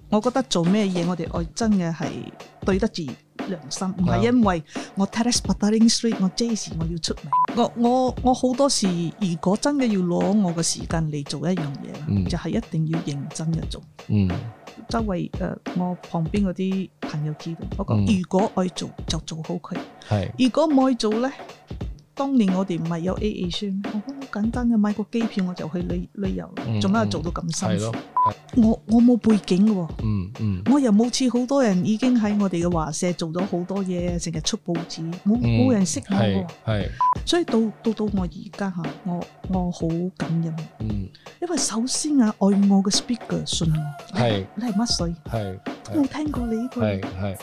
我覺得做咩嘢我哋愛真嘅係對得住良心，唔係因為我 Terrace Petaling Street 我 Jaycee 我要出名。我好多時如果真嘅要攞我嘅時間嚟做一樣嘢，就係一定要認真嘅做。周圍我旁邊嗰啲朋友知道，我講如果愛做就做好佢。如果唔愛做咧，當年我哋唔係有 AA 宣，我好簡單嘅買個機票我就去旅遊，做乜做到咁辛苦？我冇背景嘅，我又冇似好多人已經喺我哋嘅華社做咗好多嘢，成日出報紙，冇人識我嘅。所以到我而家嚇，我好感恩。因為首先啊，愛我嘅 speaker 信我，你係乜水？冇聽過你呢句。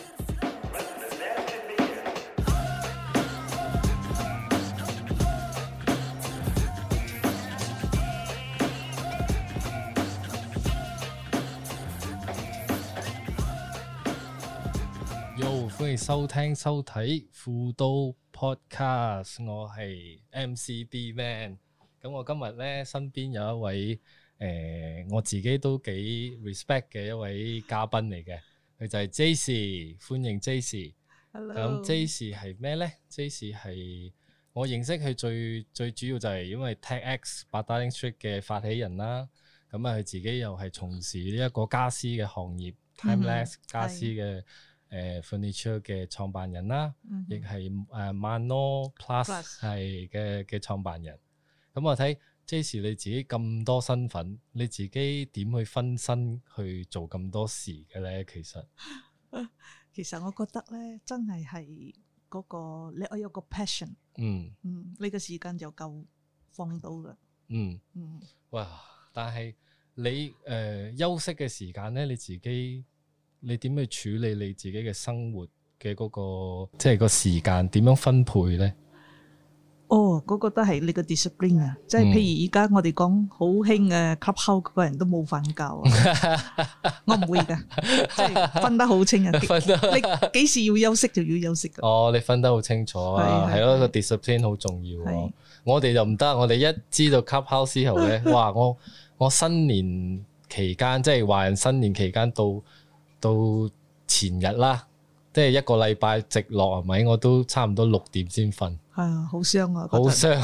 歡迎收聽收睇富都 Podcast， 我係 MCB Man。咁我今日咧身邊有一位我自己都幾 respect 嘅一位嘉賓嚟嘅，佢就係 Jaycee， 歡迎 Jaycee。 Hello。 咁 Jaycee 係咩咧 ？Jaycee 係我認識佢最主要就係因為 TechX Petaling Street 嘅發起人啦。咁啊，佢自己又係從事呢一個家私嘅行業，Timeless 家私嘅。furniture 嘅創辦人啦，亦係Mano Plus 係嘅創辦人。咁我睇 Jaycee 你自己咁多身份，你自己點去分身去做咁多事嘅咧？ 其實我覺得咧，真係嗰個你有個 passion， 你個時間就夠放到啦。 哇！但係你休息嘅時間咧，你點去處理你自己嘅生活嘅嗰個即係個時間點樣分配咧？ 嗰個都係你個 discipline 啊！即係譬如而家我哋講好興嘅 clubhouse 個人都冇瞓覺啊！我唔會㗎，即係分得好清啊！你幾時要休息就要休息㗎。 你分得好清楚啊！係咯，個 discipline 好重要喎。我哋就唔得，我哋一知道 clubhouse 之後咧，哇！我新年期間即係華人新年期間到前日啦，即係一個禮拜直落係咪？我都差唔多6點先瞓。 係啊，好傷啊！ 好傷，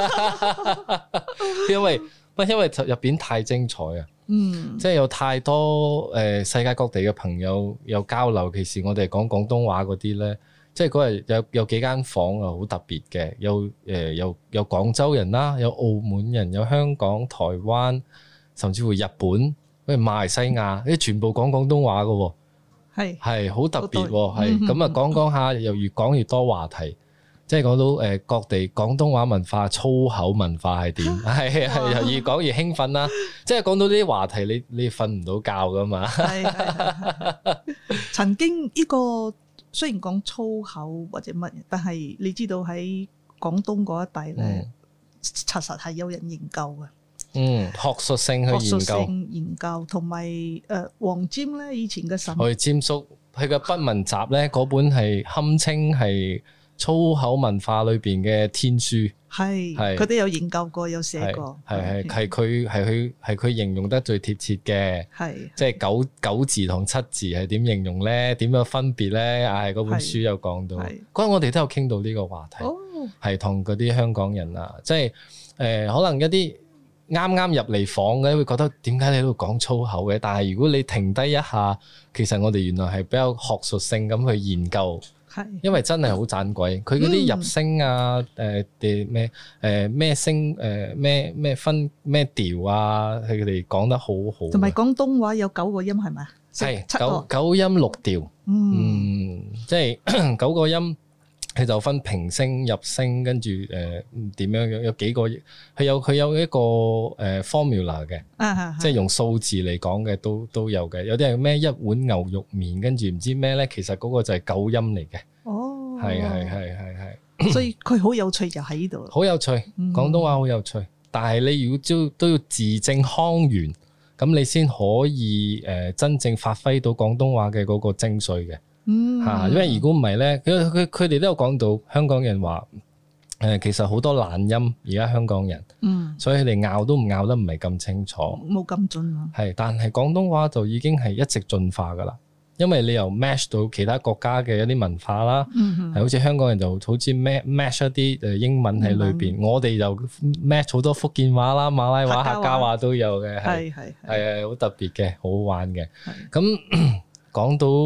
因為入邊太精彩啊！即係有太多世界各地嘅朋友有交流。其實我哋講廣東話嗰啲咧，即係嗰日有幾間房啊，好特別嘅。有廣州人啦，有澳門人，有香港、台灣，甚至乎日本。馬來西亞啲全部講廣東話嘅喎，係好特別喎，係咁啊！講下又越講越多話題，即係講到各地廣東話文化、粗口文化係點，係又越講越興奮啦！即係講到呢啲話題，你瞓唔到覺噶嘛？ 曾經呢個雖然講粗口或者乜嘢，但係你知道喺廣東嗰一帶咧，查實係有人研究嘅。 學術性去研究，同埋黃霑咧以前嘅神， 我哋霑叔佢嘅筆文集咧，嗰本係堪稱係粗口文化裏邊嘅天書， 係佢都有研究過，有寫過， 係佢形容得最貼切嘅，即係九字同7字係點形容咧？點樣分別咧？嗰本書有講到，嗰陣我哋都有傾到呢個話題，係同嗰啲香港人啊，即係可能一啲。啱啱入嚟房嘅會覺得點解你喺度講粗口嘅？但係如果你停低一下，其實我哋原來係比較學術性咁去研究，因為真係好盞鬼。佢嗰啲入聲啊，咩聲咩分咩調啊，佢哋講得好好。 同埋廣東話有9個音係咪？ 係九音6調，即係9個音。佢就分平聲、入聲，跟住點樣有幾個，佢有一個formula 嘅，即係用數字嚟講嘅都有嘅。有啲係咩一碗牛肉麵，跟住唔知咩咧，其實嗰個就係9音嚟嘅。係。 所以佢好有趣就喺呢度。 好有趣，廣東話好有趣。但係你如果都要字正腔圓，咁你先可以真正發揮到廣東話嘅嗰個精髓嘅。因為如果唔係咧，佢哋都有講到香港人話其實好多懶音，而家香港人，所以佢哋拗都唔拗得唔係咁清楚， 冇咁準啊。 係，但係廣東話就已經係一直進化噶啦，因為你由 match 到其他國家嘅一啲文化啦，係好似香港人就好似 match 一啲英文喺裏邊，我哋就 match 好多福建話啦、馬拉話、客家話都有嘅，係好特別嘅，好好玩嘅。咁講到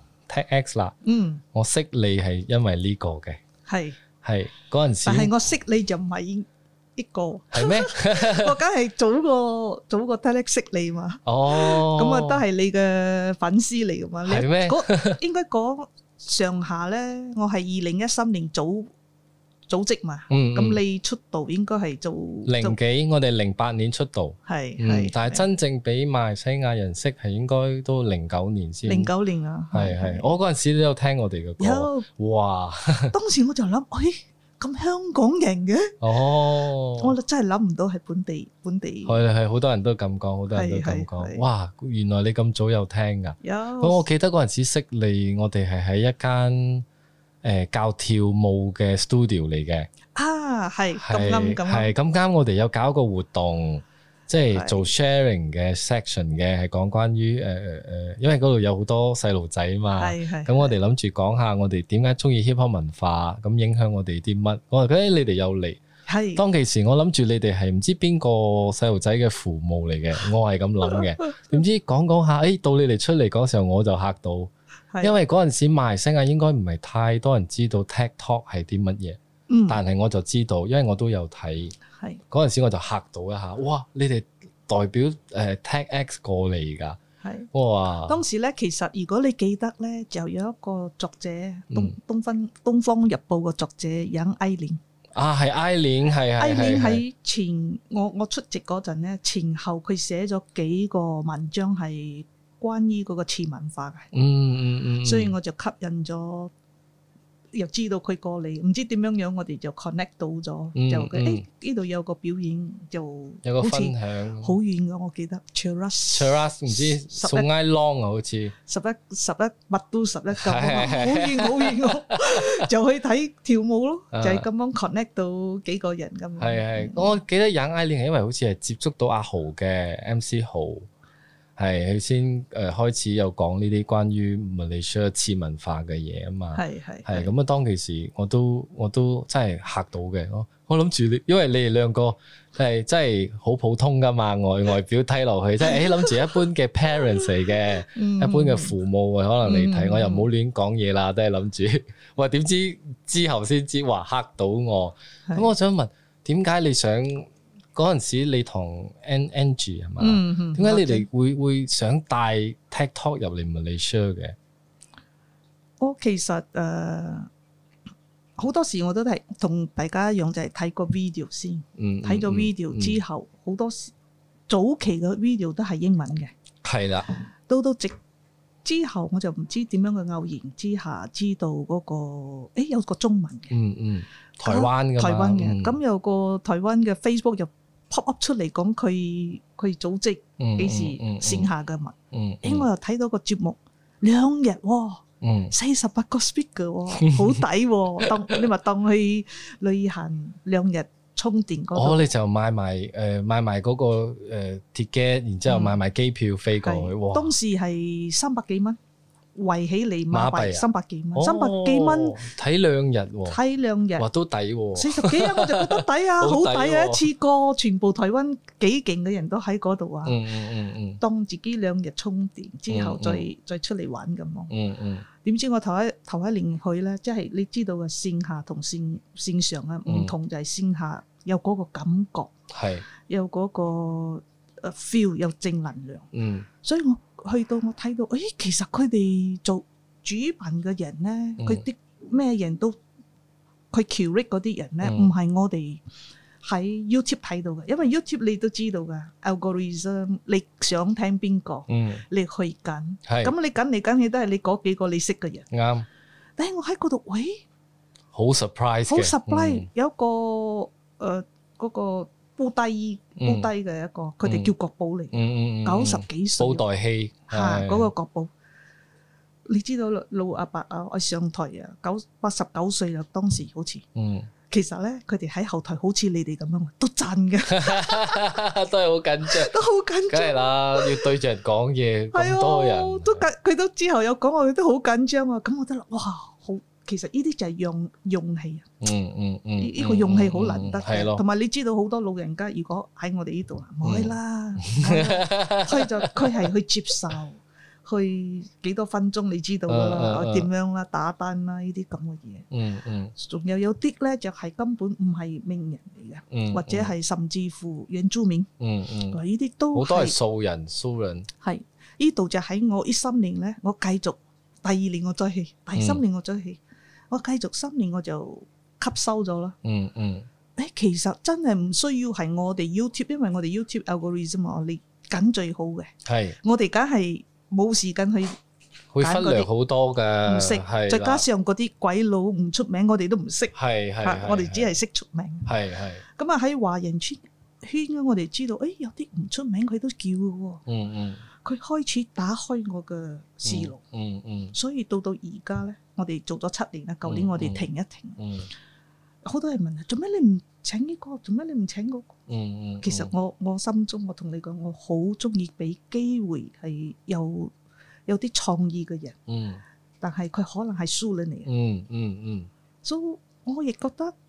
TechX 啦，我識你係因為呢個嘅，係嗰陣時， 但係我識你就唔係一個， 係咩？ 我梗係早個 TechX 識你嘛。 哦， 咁啊都係你嘅粉絲嚟噶嘛？ 係咩？ 應該講上下咧，我係2013年組織嘛。咁你出道應該係做零幾，我哋08年出道，係，但係真正俾馬來西亞人識係應該都09年先。09 年啊， 係，我嗰陣時都有聽我哋嘅歌。有，哇！ 當時我就諗，咁香港人嘅，我真係諗唔到係本地。 係，好多人都咁講，好多人都咁講。哇！原來你咁早有聽㗎。有。咁我記得嗰陣時識你，我哋係喺一間教跳舞嘅 studio 嚟嘅。係咁啱我哋有搞一個活動，即係做 sharing 嘅 section 嘅，係講關於因為嗰度有好多細路仔嘛，咁我哋諗住講下我哋點解中意 hip hop 文化，咁影響我哋啲乜。我話你哋又嚟，當其時我諗住你哋係唔知邊個細路仔嘅父母嚟嘅，我係咁諗嘅。點知講下，到你哋出嚟嗰時候我就嚇到，因為嗰陣時馬來西亞應該唔係太多人知道 TikTok 係啲乜嘢。但係我就知道，因為我都有睇，嗰陣時我就嚇到一下，哇！你哋代表TechX 過嚟㗎，哇！當時咧，其實如果你記得咧，就有一個作者，東方日報嘅作者楊愛蓮，係愛蓮，愛蓮喺前我出席嗰陣咧，前後佢寫咗幾個文章係關於嗰個次文化嘅，所以我就吸引咗。又知道佢過嚟，唔知點樣，我哋就 connect 到咗，就呢度有個表演，就有個分享，好遠㗎，我記得 Cheras 唔知送 I long 啊，好似11乜都11咁，好遠喎，就去睇跳舞咯，就係咁樣 connect 到幾個人咁。係，我記得楊愛蓮係因為好似係接觸到阿豪嘅 MC 豪。係佢先開始有講呢啲關於馬來西亞次文化嘅嘢啊嘛，係咁啊！當其時我都真係嚇到嘅，我諗住你，因為你哋兩個係真係好普通噶嘛，外表睇落去，即係諗住一般嘅 parents 嚟嘅，一般嘅父母可能你睇，我又唔好亂講嘢啦，都係諗住，哇！點知之後先知話嚇到我，咁我想問點解你想？嗰陣時你同 Angie 係嘛？點解你哋會想帶 TikTok 入嚟馬來西亞嘅？我其實好多時我都係同大家一樣，就係睇個 video 先，睇咗 video 之後，好多時早期嘅 video 都係英文嘅，係啦。到之後我就唔知點樣嘅偶然之下知道嗰個，有個中文嘅，台灣嘅，咁有個台灣嘅 Facebook 又pop up 出嚟講佢組織幾時線下嘅物，我又睇到個節目2日，48個 speaker 喎，好抵喎，你話當去旅行2日充電嗰度，你就買埋嗰個ticket，然之後買埋機票飛過去，當時係300幾蚊。圍起嚟馬幣300幾蚊，300幾蚊睇2日喎，睇2日，哇都抵喎，40幾我就覺得抵啊，好抵啊！一次過全部台灣幾勁嘅人都喺嗰度啊，當自己2日充電之後再出嚟玩咁咯。點知我頭一年去咧，即係你知道嘅線下同線上啊唔同，就係線下有嗰個感覺，係有嗰個feel，有正能量，所以我去到我睇到，其實佢哋做主辦嘅人咧，佢啲咩人都佢 curate 嗰啲人咧，唔係我哋喺 YouTube 睇到嘅，因為 YouTube 你都知道嘅 algorithm， 你想聽邊個，你去緊，咁你緊嚟緊去都係你嗰幾個你識嘅人，啱。但係我喺嗰度，好 surprise，好 surprise，有一個嗰個煲低嘅一個，佢哋叫國寶嚟，90幾歲，布袋戲嚇嗰個國寶。你知道老阿伯啊，我上台啊，89歲啦，當時好似， 其實咧，佢哋喺後台好似你哋咁樣，都震嘅， 都係好緊張， 都好緊張。 梗係啦，要對住人講嘢， 係咁多人， 啊，佢都之後有講，我哋都好緊張啊。咁我覺得哇，好，其實呢啲就係勇氣啊。呢個勇氣好難得嘅，同埋你知道好多老人家，如果喺我哋呢度啊，唔去啦，佢係去接受。去幾多分鐘你知道啦，點樣啦，打單啦，呢啲咁嘅嘢。仲有啲咧就係根本唔係名人嚟嘅，或者係甚至乎原住民。呢啲都好多係素人。 係呢度就喺我呢3年咧，我繼續第2年我再去，第3年我再去，我繼續3年我就吸收咗啦。其實真係唔需要係我哋 YouTube， 因為我哋 YouTube algorithm 我哋揀最好嘅。係我哋梗係。冇時間去忽略好多嘅， 唔識，再加上嗰啲鬼佬唔出名，我哋都唔識。我哋只係識出名。咁啊喺華人圈我哋知道，有啲唔出名佢都叫嘅喎。佢開始打開我嘅思路。所以到而家咧，我哋做咗7年啦。舊年我哋停一停。好多人問啊，做咩你唔請呢個？做咩你唔請嗰個？其實我心中，我同你講，我好中意俾機會係有啲創意嘅人。但係佢可能係輸咗你。所以我亦覺得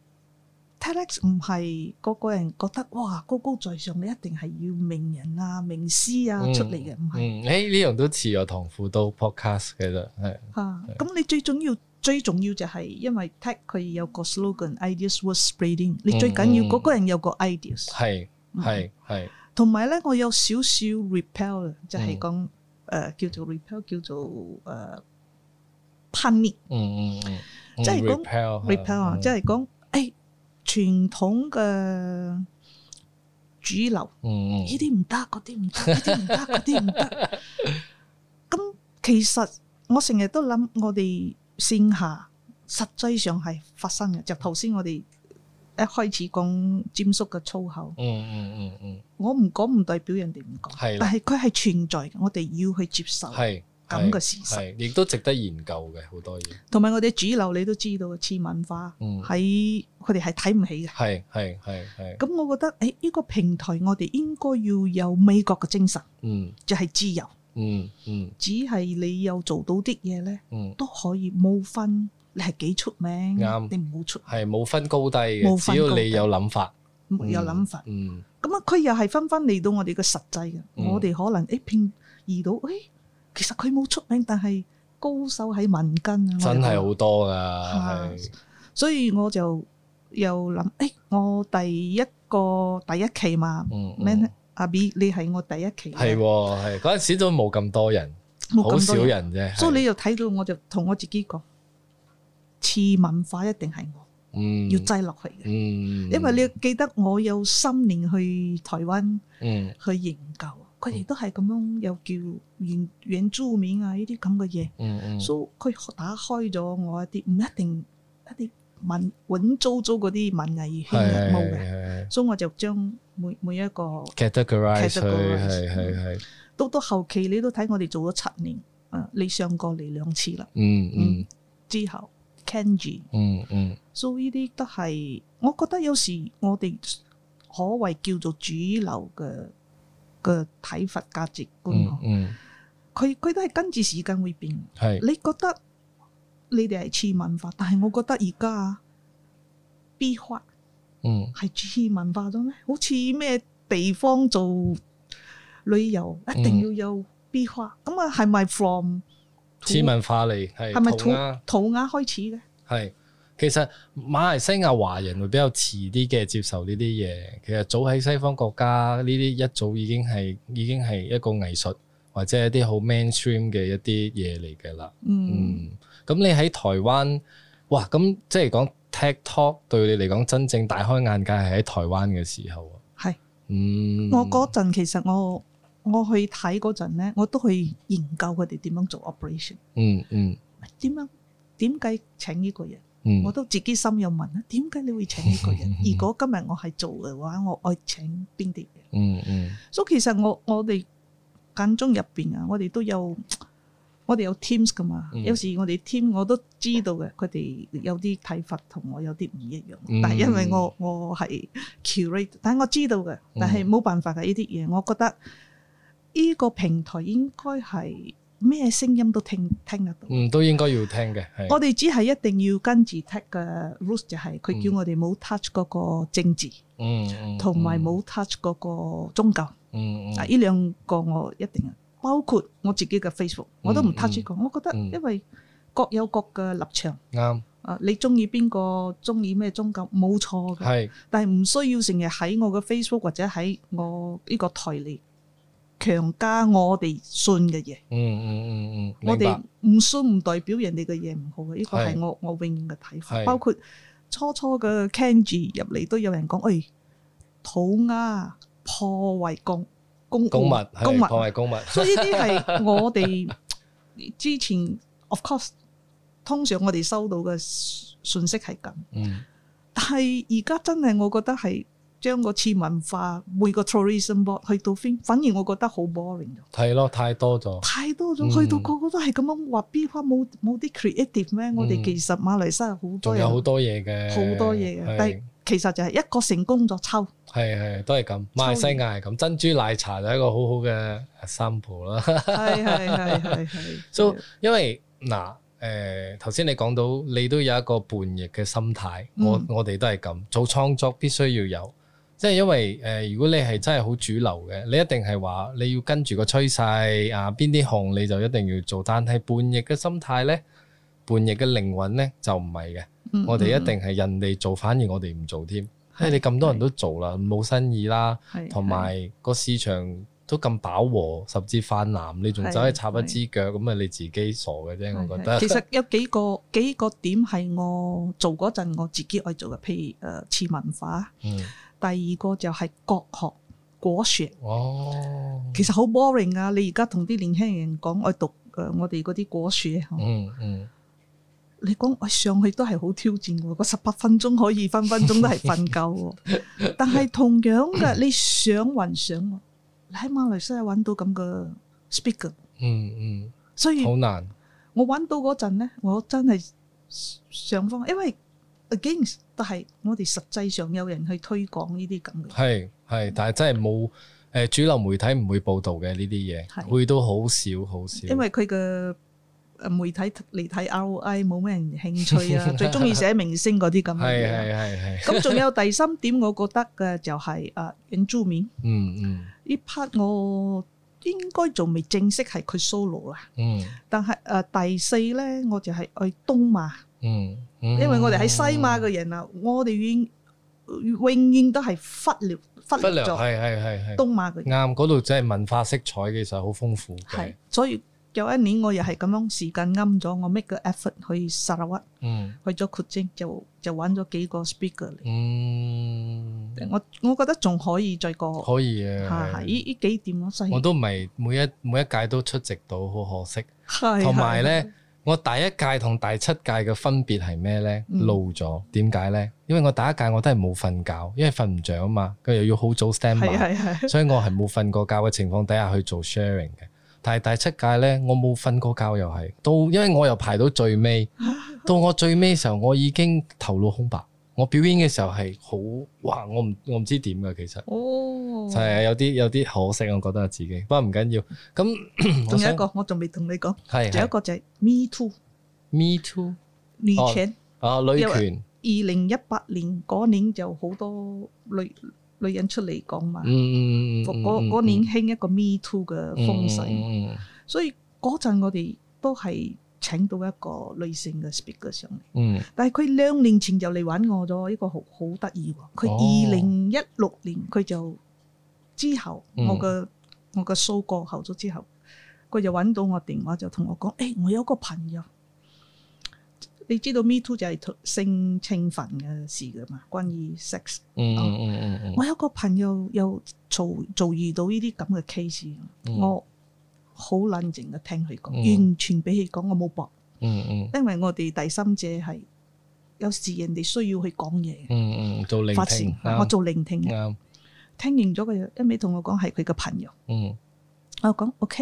TEDx 唔係個個人覺得哇高高在上，你一定係要名人啊、名師啊出嚟嘅，唔係。 呢樣都似我唐輔導 podcast 嘅啫，係。 咁你最重要就係因為 TED 佢有個 slogan ideas worth spreading， 你最緊要嗰個人有個 ideas。係。同埋咧，我有少少 repel， 就係講叫做 repel， 叫做叛逆。即係講 repel 啊，即係講傳統嘅主流，呢啲唔得，嗰啲唔得，呢啲唔得，嗰啲唔得。咁其實我成日都諗，我哋線下實際上係發生嘅，就頭先我哋一開始講詹叔嘅粗口。我唔講唔代表人哋唔講，但係佢係存在嘅，我哋要去接受咁嘅事實， 亦都值得研究嘅好多嘢。 同埋我哋主流你都知道，次文化喺佢哋係睇唔起嘅。係。咁我覺得呢個平台我哋應該要有美國嘅精神，就係自由。只係你有做到啲嘢咧，都可以冇分你係幾出名，你唔好出， 係冇分高低嘅，只要你有諗法， 有諗法。咁啊，佢又係分嚟到我哋嘅實際嘅，我哋可能遇到其實佢冇出名，但係高手喺民間啊， 真係好多噶。 所以我就又諗，我第一期嘛，阿 B 你係我第一期， 係嗰陣時都冇咁多人，好少人啫。 所以你又睇到，我就同我自己講，次文化一定係我，要擠落去嘅。因為你記得我有3年去台灣去研究。佢哋都係咁樣，又叫原住民啊呢啲咁嘅嘢，所以佢打開咗我一啲唔一定一啲穩租嗰啲文藝圈冇嘅，所以我就將每一個 categorize 係。 到後期你都睇我哋做咗7年，你上過嚟2次啦，之後 Kenji，所以呢啲都係我覺得有時我哋可謂叫做主流嘅睇法價值觀，佢都係跟住時間會變。你覺得你哋係次文化，但係我覺得而家 B 化係次文化咗咩？好似咩地方做旅遊一定要有 B 化，咁啊係咪 from 次文化嚟？係咪塗鴉開始嘅？係。 其實馬來西亞華人會比較遲啲嘅接受呢啲嘢，其實早喺西方國家呢啲一早已經係一個藝術或者一啲好 mainstream 嘅一啲嘢嚟嘅啦。咁你喺台灣，哇！咁即係講 TikTok 對你嚟講真正大開眼界係喺台灣嘅時候。 係。我嗰陣其實我去睇嗰陣咧，我都去研究佢哋點樣做 operation。點解請呢個人？我都自己心有問啊，點解你會請呢個人？如果今日我係做嘅話，我愛請邊啲人？所以其實我哋間中入邊啊，我哋都有我哋有 teams 噶嘛，有時我哋 team 我都知道嘅，佢哋有啲睇法同我有啲唔一樣，但係因為我係 curate， 但係我知道嘅，但係冇辦法嘅呢啲嘢，我覺得呢個平台應該係咩聲音都聽得到， 都應該要聽嘅。 我哋只係一定要跟住 tag 嘅 rules， 就係佢叫我哋冇 touch 嗰個政治，同埋冇 touch 嗰個宗教，呢兩個我一定。包括我自己嘅 Facebook， 我都唔 touch 過。我覺得因為各有各嘅立場， 啱。 你中意邊個，中意咩宗教冇錯嘅，但係唔需要成日喺我嘅 Facebook 或者喺我呢個台嚟強加我哋信嘅嘢。我哋唔信唔代表人哋嘅嘢唔好嘅，呢個係我永遠嘅睇法。包括初嘅 Kenji 入嚟都有人講，塗鴉破壞公物，破壞公物，所以呢啲係我哋之前 of course 通常我哋收到嘅信息係咁，但係而家真係我覺得係將個次文化每個 tourism board 去到反而我覺得好 boring 咗。係咯，太多咗，去到個個都係咁樣話，邊花冇啲 creative 咩？我哋其實馬來西亞好多人，有好多嘢嘅，好多嘢嘅，但係其實就係一個成功咗抽。係都係咁，馬來西亞係咁，珍珠奶茶就係一個好好嘅 sample 啦。係。So 因為嗱頭先你講到你都有一個叛逆嘅心態，我哋都係咁，做創作必須要有，即係因為如果你係真係好主流嘅，你一定係話你要跟住個趨勢啊，邊啲紅你就一定要做，但係叛逆嘅心態呢，叛逆嘅靈魂呢，就唔係嘅，我哋一定係人哋做，反而我哋唔做添。因為你咁多人都做啦，冇新意啦，同埋個市場都咁飽和，甚至泛濫，你仲走去插一支腳，咁啊你自己傻嘅啫，我覺得。其實有幾個點係我做嗰陣我自己愛做嘅，譬如次文化，第二個就係國學果樹。其實好 boring 啊！你而家同啲年輕人講愛讀我哋嗰啲果樹，你講我上去都係好挑戰喎，個18分鐘可以分分鐘都係瞓覺喎。但係同樣嘅，你想還想，你喺馬來西亞揾到咁嘅 speaker，所以好難。我揾到嗰陣咧，我真係上方，因為 again 都係我哋實際上有人去推廣呢啲咁嘅。係，但係真係冇主流媒體唔會報導嘅呢啲嘢，會都好少。因為佢嘅媒體嚟睇 ROI 冇咩人興趣啊，最中意寫明星嗰啲咁嘅嘢。係。咁仲有第三點，我覺得嘅就係原住民。呢 part 我應該仲未正式係佢 solo 啦。但係第四咧，我就係去東馬。因為我哋喺西馬嘅人啊，我哋永遠都係忽略咗。係。東馬嘅人啱，嗰度真係文化色彩其實好豐富嘅。係，所以。有一年我又係咁樣時間啱咗，我 make 個 effort 去沙拉屈，去咗括精就揾咗幾個 speaker 嚟。我覺得仲可以再過，可以嘅。係呢幾點咯，我都唔係每一屆都出席到，好可惜。同埋咧，我第一屆同第7屆嘅分別係咩咧？老咗，點解咧？因為我第一屆我都係冇瞓覺，因為瞓唔着啊嘛，佢又要好早 stand by，所以我係冇瞓過覺嘅情況底下去做 sharing 嘅。但係第7屆咧，我冇瞓過覺，又係因為我又排到最尾，到我最尾嘅時候，我已經頭腦空白。我表演嘅時候係好哇，我唔知點㗎，其實就係有啲可惜，我覺得自己。不過唔緊要。咁仲有一個，我仲未同你講，仲有一個就係 Me Too 女權女權。2018年嗰年就好多女人出嚟講嘛，嗰年興一個 Me Too 嘅風勢，所以嗰陣我哋都係請到一個女性嘅 speaker 上嚟，但係佢2年前就嚟揾我咗，呢個好得意喎。佢2016年佢就之後我嘅 show 過後咗之後，佢就揾到我電話就同我講，我有個朋友。你知道 Me Too 就係性侵犯嘅事㗎嘛？關於 sex，我有個朋友又遭遇到呢啲咁嘅 case，我好冷靜嘅聽佢講，完全俾佢講，我冇駁，因為我哋第三者係有時人哋需要去講嘢，做聆聽，我做聆聽嘅，聽完咗佢一味同我講係佢嘅朋友，我講 OK，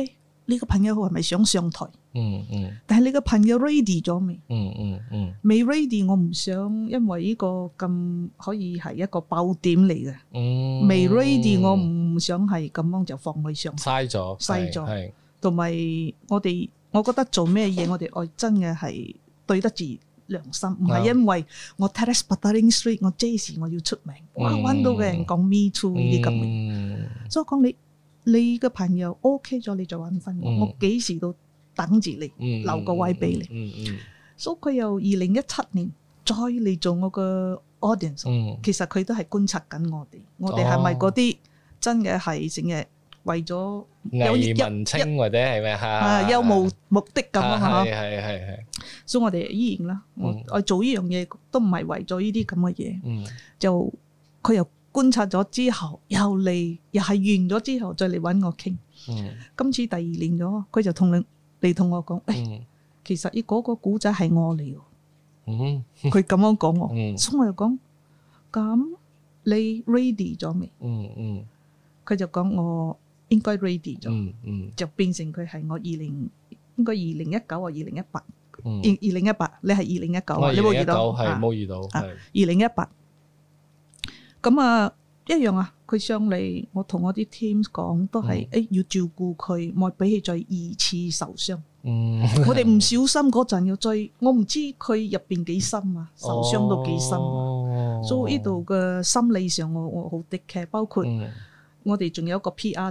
你個朋友係咪想上台？但係你個朋友 ready 咗未？未 ready， 我唔想因為呢個咁可以係一個爆點嚟嘅。未 ready， 我唔想係咁樣就放佢上台。嘥咗。同埋我覺得做咩嘢，我哋愛真嘅係對得住良心，唔係因為我 Terrace Petaling Street， 我 Jazz 我要出名，哇揾到嘅人講 Me Too 呢啲咁嘅，所以講你嘅朋友 OK 咗，你就揾翻我，我幾時都等住你，留個位俾你。所以佢由2017年再嚟做我嘅 audience，其實佢都係觀察緊我哋係咪嗰啲真嘅係成日為咗偽文青或者係咩嚇？ 有無目的咁啊嚇！ 係。 所以我哋依然啦，我做呢樣嘢都唔係為咗呢啲咁嘅嘢，就佢又觀察咗之後，又係完咗之後再嚟揾我傾。今次第2年咗，佢就同我講，其實呢嗰個古仔係我嚟喎。佢咁樣講我，所以我就講，咁你 ready 咗未？佢就講我應該 ready 咗，就變成佢係我應該2019或2018。2018，你係2019啊？你冇遇到？ 係冇遇到。係 2018。咁啊，一樣啊。佢上嚟，我同我啲 team 講都係，要照顧佢，唔好俾佢再2次受傷。我哋唔小心嗰陣要追，我唔知佢入邊幾深啊，受傷到幾深。所以呢度嘅心理上我好 take care，包括我哋仲有一個 PR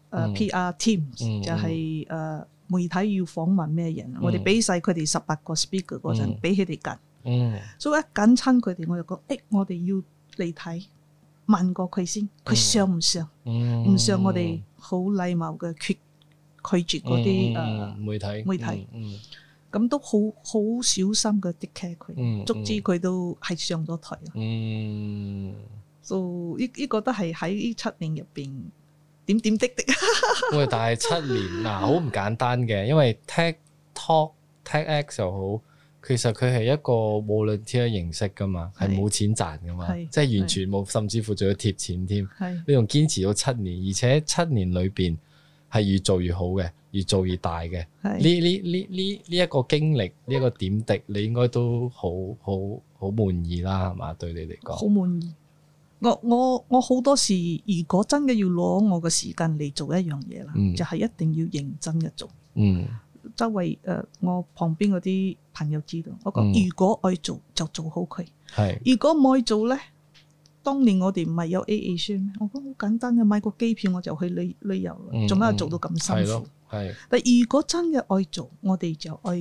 team，就係媒體要訪問咩人，我哋俾晒佢哋18個 speaker 嗰陣，俾佢哋揀。所以一揀親佢哋，我就講，我哋要嚟睇，問過佢先，佢上唔上？唔上，我哋好禮貌嘅拒絕嗰啲媒體。咁都好小心嘅 take care 佢，卒之佢都係上咗台。所以呢個都係喺呢7年入邊。點滴滴， 喂！但係7年嗱，好唔簡單嘅，因為 TEDx 又好，其實佢係一個 volunteer 形式噶嘛，係冇錢賺噶嘛，即係完全冇，甚至乎仲要貼錢添。你仲堅持到7年，而且7年裏邊係越做越好嘅，越做越大嘅。呢一個經歷，呢一個點滴，你應該都好滿意啦，係嘛？對你嚟講， 好滿意。我好多時，如果真嘅要攞我嘅時間嚟做一樣嘢啦，就係一定要認真嘅做。周圍我旁邊嗰啲朋友知道，我講如果愛做就做好佢。如果唔愛做咧，當年我哋唔係有 AA 宣咩？我講好簡單嘅，買個機票我就去旅遊啦，做咩做到咁辛苦？但如果真嘅愛做，我哋就愛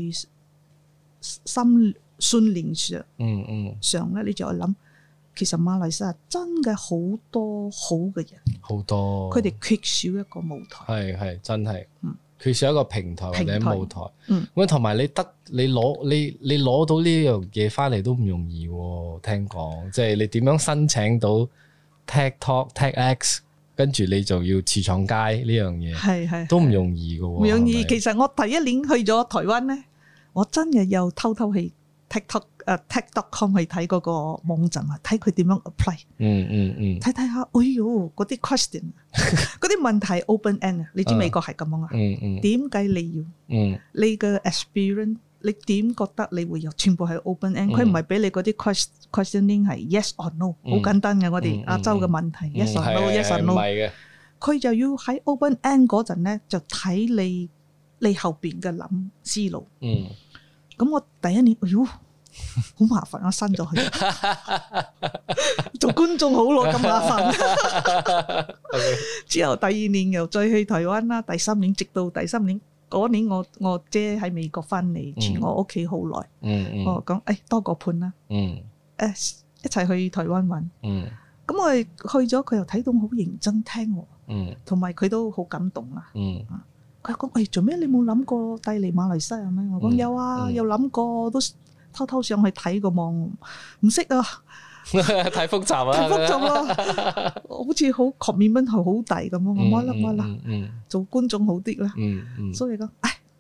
信念上咧，你就愛諗。其實馬來西亞真嘅好多好嘅人，好多，佢哋缺少一個舞台， 係真係，缺少一個平台或者舞台。咁同埋你攞到呢樣嘢翻嚟都唔容易喎，聽講，即係你點樣申請到 TEDtalk、TEDx， 跟住你就要次廠街呢樣嘢，係都唔容易嘅喎。 唔容易。其實我第1年去咗台灣咧，我真係又偷去 TED.com 去睇嗰個網站啊，睇佢點樣 apply，睇睇下，哎喲，嗰啲 question， 嗰啲問題 open end 啊，你知美國係咁樣啊？點解你要？你嘅 experience， 你點覺得你會有？全部係 open end， 佢唔係俾你嗰啲 questioning 係 yes or no， 好簡單嘅，我哋亞洲嘅問題 yes or no，yes or no， 佢就要喺 open end 嗰陣咧，就睇你後邊嘅諗思路。咁我第1年，哎喲，好麻煩，我刪咗佢。做觀眾好咯，咁麻煩。之後第2年又再去台灣啦，第3年直到第3年嗰年，我姐喺美國翻嚟住我屋企好耐。我講多個伴啦，一齊去台灣玩。咁我哋去咗，佢又睇到我好認真聽喎，同埋佢都好感動啊。佢講：做咩你冇諗過帶嚟馬來西亞咩？我講有啊，有諗過，都偷偷上去睇個網，唔識啊， 太複雜啊， 太複雜啦，好似好 commitment 係好大咁咯。我啦，做觀眾好啲啦。所以講，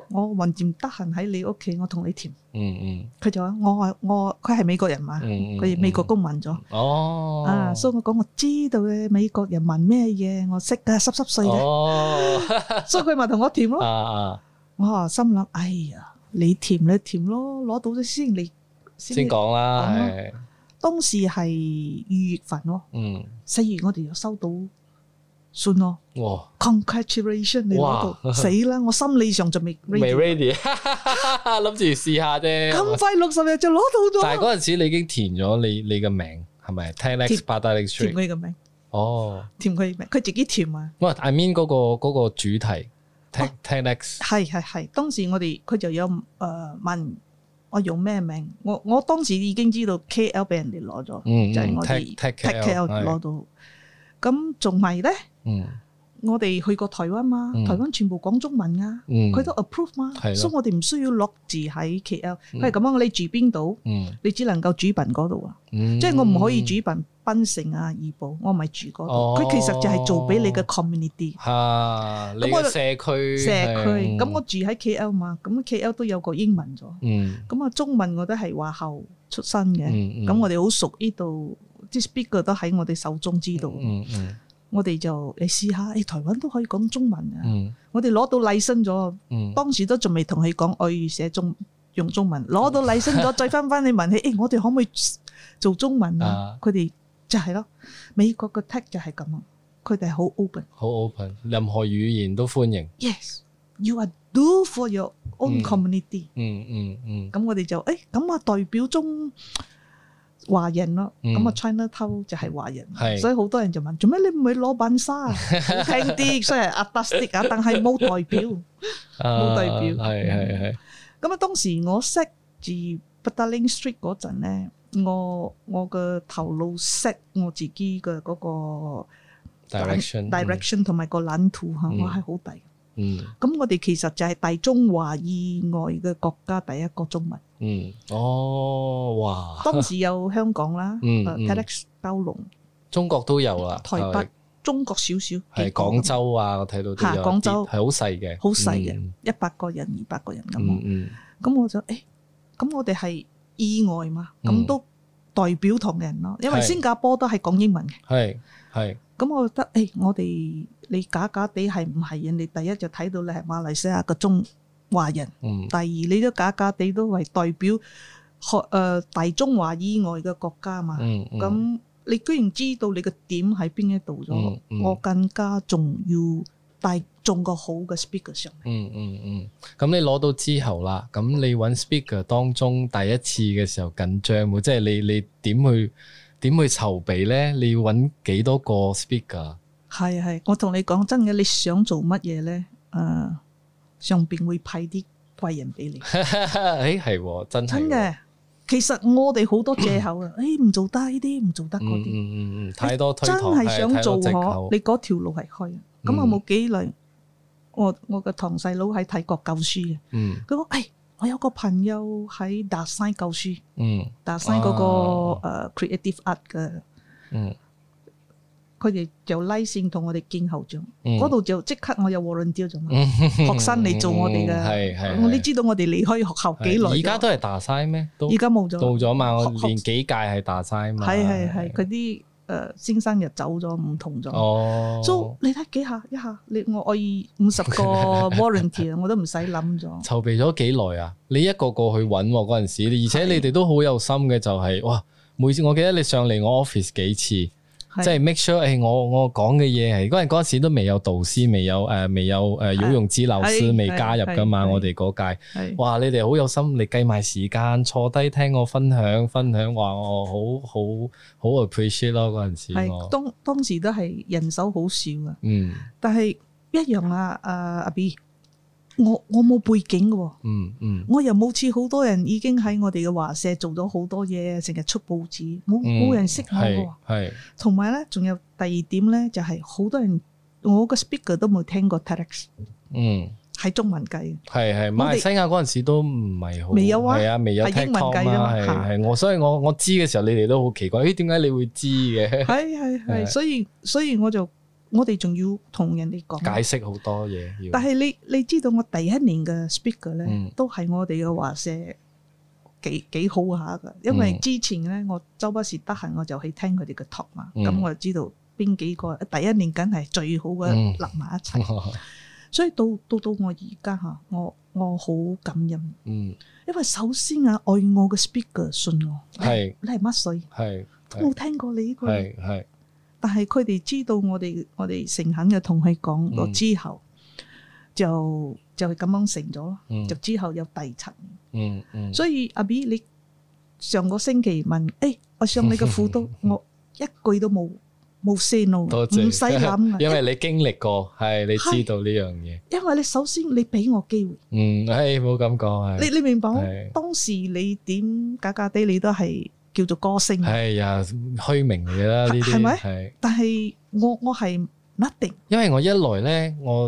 我橫掂得閒喺你屋企，我同你甜。 嗯佢就話佢係美國人嘛，佢美國公民咗。所以我講我知道嘅美國人問咩嘢，我識㗎，濕碎嘅。所以佢咪同我甜咯。我話心諗，哎呀，你甜咯，攞到咗先講啦。係當時係2月份咯，4月我哋就收到信咯。哇 ！Congratulations， 你攞到死啦！我心理上就未 ready， 諗住試下啫。 咁快60日就攞到咗。但係嗰陣時你已經填咗你嘅名係咪 ？10X Petaling Street 填佢嘅名。填佢名，佢自己填啊。 I mean 嗰個主題 10X 係。當時佢就有問我用咩名，我當時已經知道 KL 俾人哋攞咗，就係我哋 Take KL 攞到。咁仲係咧，我哋去過台灣嘛，台灣全部講中文啊，佢都 approve 嘛，所以我哋唔需要落字喺 KL。佢係咁樣，你住邊度，你只能夠主辦嗰度啊，即係我唔可以主辦檳城啊、怡保，我唔係住嗰度。佢其實就係做俾你嘅 community， 你嘅社區。 咁我住喺 KL 嘛，咁 KL 都有個英文咗，咁啊中文我都係華校出身嘅，咁我哋好熟呢度。啲 speaker 都喺我哋手中知道，我哋就你試下，台灣都可以講中文啊！我哋攞到禮身咗，當時都仲未同佢講我要寫用中文，攞到禮身咗，再翻你問佢，我哋可唔可以做中文啊？佢哋就係咯，美國嘅 tech 就係咁啊，佢哋好 open， 好 open， 任何語言都歡迎。 Yes， you are do for your own community。咁我哋就咁啊，代表中華人咯，咁啊 Chinatown 就係華人，所以好多人就問做咩你唔去攞板沙啊？好聽啲，雖然artistic啊，但係冇代表，冇代表。係。咁啊，當時我識住 Petaling Street 嗰陣咧，我嘅頭腦 set 我自己嘅嗰個 direction 同埋個藍圖嚇，我係好大。咁我哋其實就係大中華以外嘅國家第一個中文。 哇！ 當時有香港啦，TEDx 九龍， 中國都有啦， 台北、中國少少， 係廣州啊，我睇到都有， 廣州係好細嘅， 好細嘅，100個人、200個人咁。咁我就咁我哋係意外嘛，咁都代表同人咯，因為新加坡都係講英文嘅。係。咁我覺得我哋你假地係唔係人哋第一就睇到你係馬來西亞嘅中華人，第二你都假地都係代表大中華以外嘅國家嘛。咁你居然知道你嘅點喺邊一度咗，我更加仲要帶中個好嘅 speaker 上嚟。 咁你攞到之後啦，咁你揾 speaker 當中第一次嘅時候緊張喎，即係你點去籌備咧？你要揾幾多個 speaker？ 係，我同你講真嘅，你想做乜嘢咧？上邊會派啲貴人俾你。 係真嘅。其實我哋好多借口啊，唔做得呢啲，唔做得嗰啲。 太多推搪， 真係想做你嗰條路係開。咁我冇幾耐，我個堂細佬喺泰國教書嘅。佢講我有個朋友喺達西教書，達西嗰個creative art 嘅，佢哋就拉線同我哋見校長，嗰度就即刻我有 volunteer 咗嘛，學生嚟做我哋嘅，你知道我哋離開學校幾耐？ 而家都係達西咩？ 而家冇咗， 到咗嘛？我練幾屆係達西嘛？ 係，佢啲先生又走咗，唔同咗。所以你睇一下，我50個 volunteer， 我都唔使諗咗。 籌備咗幾耐啊？你一個個去揾嗰陣時，而且你哋都好有心嘅，就係哇！每次我記得你上嚟我 office 幾次。即係 make sure，我講嘅嘢係嗰陣時都未有導師，未有游泳指導師未加入噶嘛，我哋嗰屆，哇！你哋好有心，你計埋時間坐低聽我分享，話我好 appreciate 咯嗰陣時。 係當時都係人手好少啊，但係一樣啊，阿 B。我冇背景嘅，我又冇似好多人已經喺我哋嘅華社做咗好多嘢，成日出報紙，冇人識我嘅。係，同埋咧，仲有第二點咧，就係好多人我個 speaker 都冇聽過 TEDx，係中文計。係，馬來西亞嗰陣時都唔係好，未有啊，係啊，未有聽講嘛，係所以我知嘅時候，你哋都好奇怪，點解你會知嘅？係，所以我就我哋仲要同人哋講解釋好多嘢。 但係你知道我第一年嘅 speaker 咧，都係我哋嘅華社幾好下㗎，因為之前咧我周不時得閒我就去聽佢哋嘅 talk 嘛，咁我就知道邊幾個第一年梗係最好嘅立埋一齊，所以到我而家嚇，我好感恩，因為首先啊愛我嘅 speaker 信我，你係乜水？都冇聽過你呢個，但係佢哋知道我哋誠懇嘅同佢講咗之後，就係咁樣成咗咯。就之後有第七年，所以阿 B 你上個星期問，我上你嘅輔導，我一句都冇 say no， 唔使諗， 因為你經歷過，係你知道呢樣嘢。因為你首先你俾我機會， 冇咁講， 你明白我當時你點假假地你都係。叫做歌星， 係呀，虛名嚟啦呢啲， 係咪？係，但係我係 nothing， 因為我一來咧，我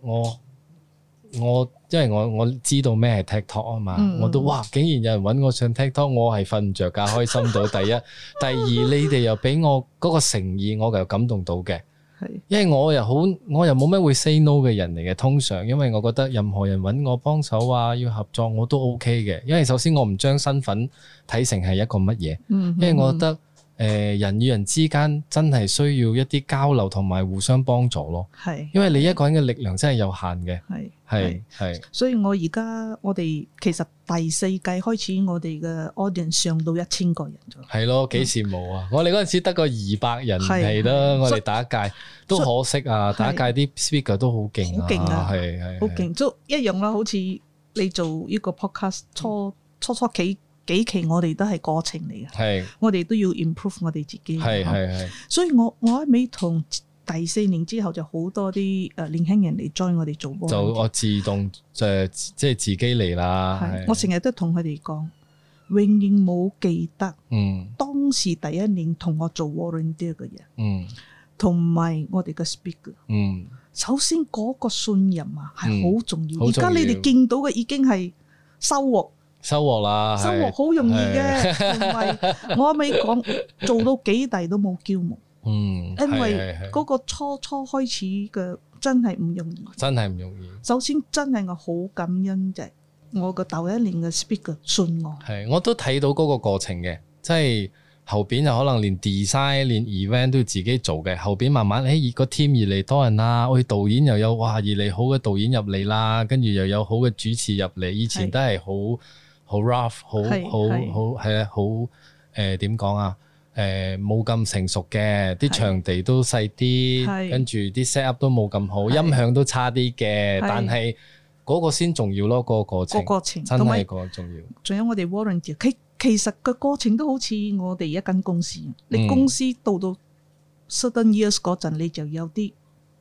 因為我知道咩係 TikTok 啊嘛，我都哇，竟然有人揾我上 TikTok，我係瞓唔着覺，開心到第一，第二你哋又俾我嗰個誠意，我又感動到嘅。因為我又冇咩會 say no 嘅人嚟嘅，通常因為我覺得任何人揾我幫手啊，要合作我都 OK 嘅。因為首先我唔將身份睇成係一個乜嘢，因為我覺得人與人之間真係需要一啲交流同埋互相幫助咯。因為你一個人嘅力量真係有限嘅。係， 所以我哋其實第4屆開始，我哋嘅 audience 上到1000個人咗。係咯，幾羨慕啊！我哋嗰陣時得個200人係啦，我哋第一屆都可惜啊！第一屆啲 speaker 都好勁啊，係好勁，都一樣啦。好似你做呢個 podcast 初幾期，我哋都係過程嚟嘅，我哋都要 improve 我哋自己。係，所以我喺尾同。第4年之後就好多啲年輕人嚟 join 我哋做波， 就我自動即係自己嚟啦。 我成日都同佢哋講，永遠冇記得當時第一年同我做 volunteer 嘅人，同埋我哋嘅 speaker。首先嗰個信任啊係好重要。而家你哋見到嘅已經係收穫啦，收穫好容易嘅。同埋我未講做到幾大都冇驕傲。因為嗰個初開始嘅真係唔容易， 真係唔容易。首先真係我好感恩就係我個頭一年嘅 speaker 信我， 我都睇到嗰個過程嘅，即係後邊就可能連 design 連 event 都要自己做嘅，後邊慢慢個 team 越嚟多人啦，導演又有哇越嚟好嘅導演入嚟啦，跟住又有好嘅主持入嚟，以前都係好 rough 好係啊，好點講啊？冇咁成熟嘅，啲場地都細啲，跟住啲 set up 都冇咁好，音響都差啲嘅，但係嗰個先重要咯，個過程真係個重要。 仲有我哋 volunteer，其實個過程都好似我哋一間公司，你公司到 certain years 嗰陣，你就有啲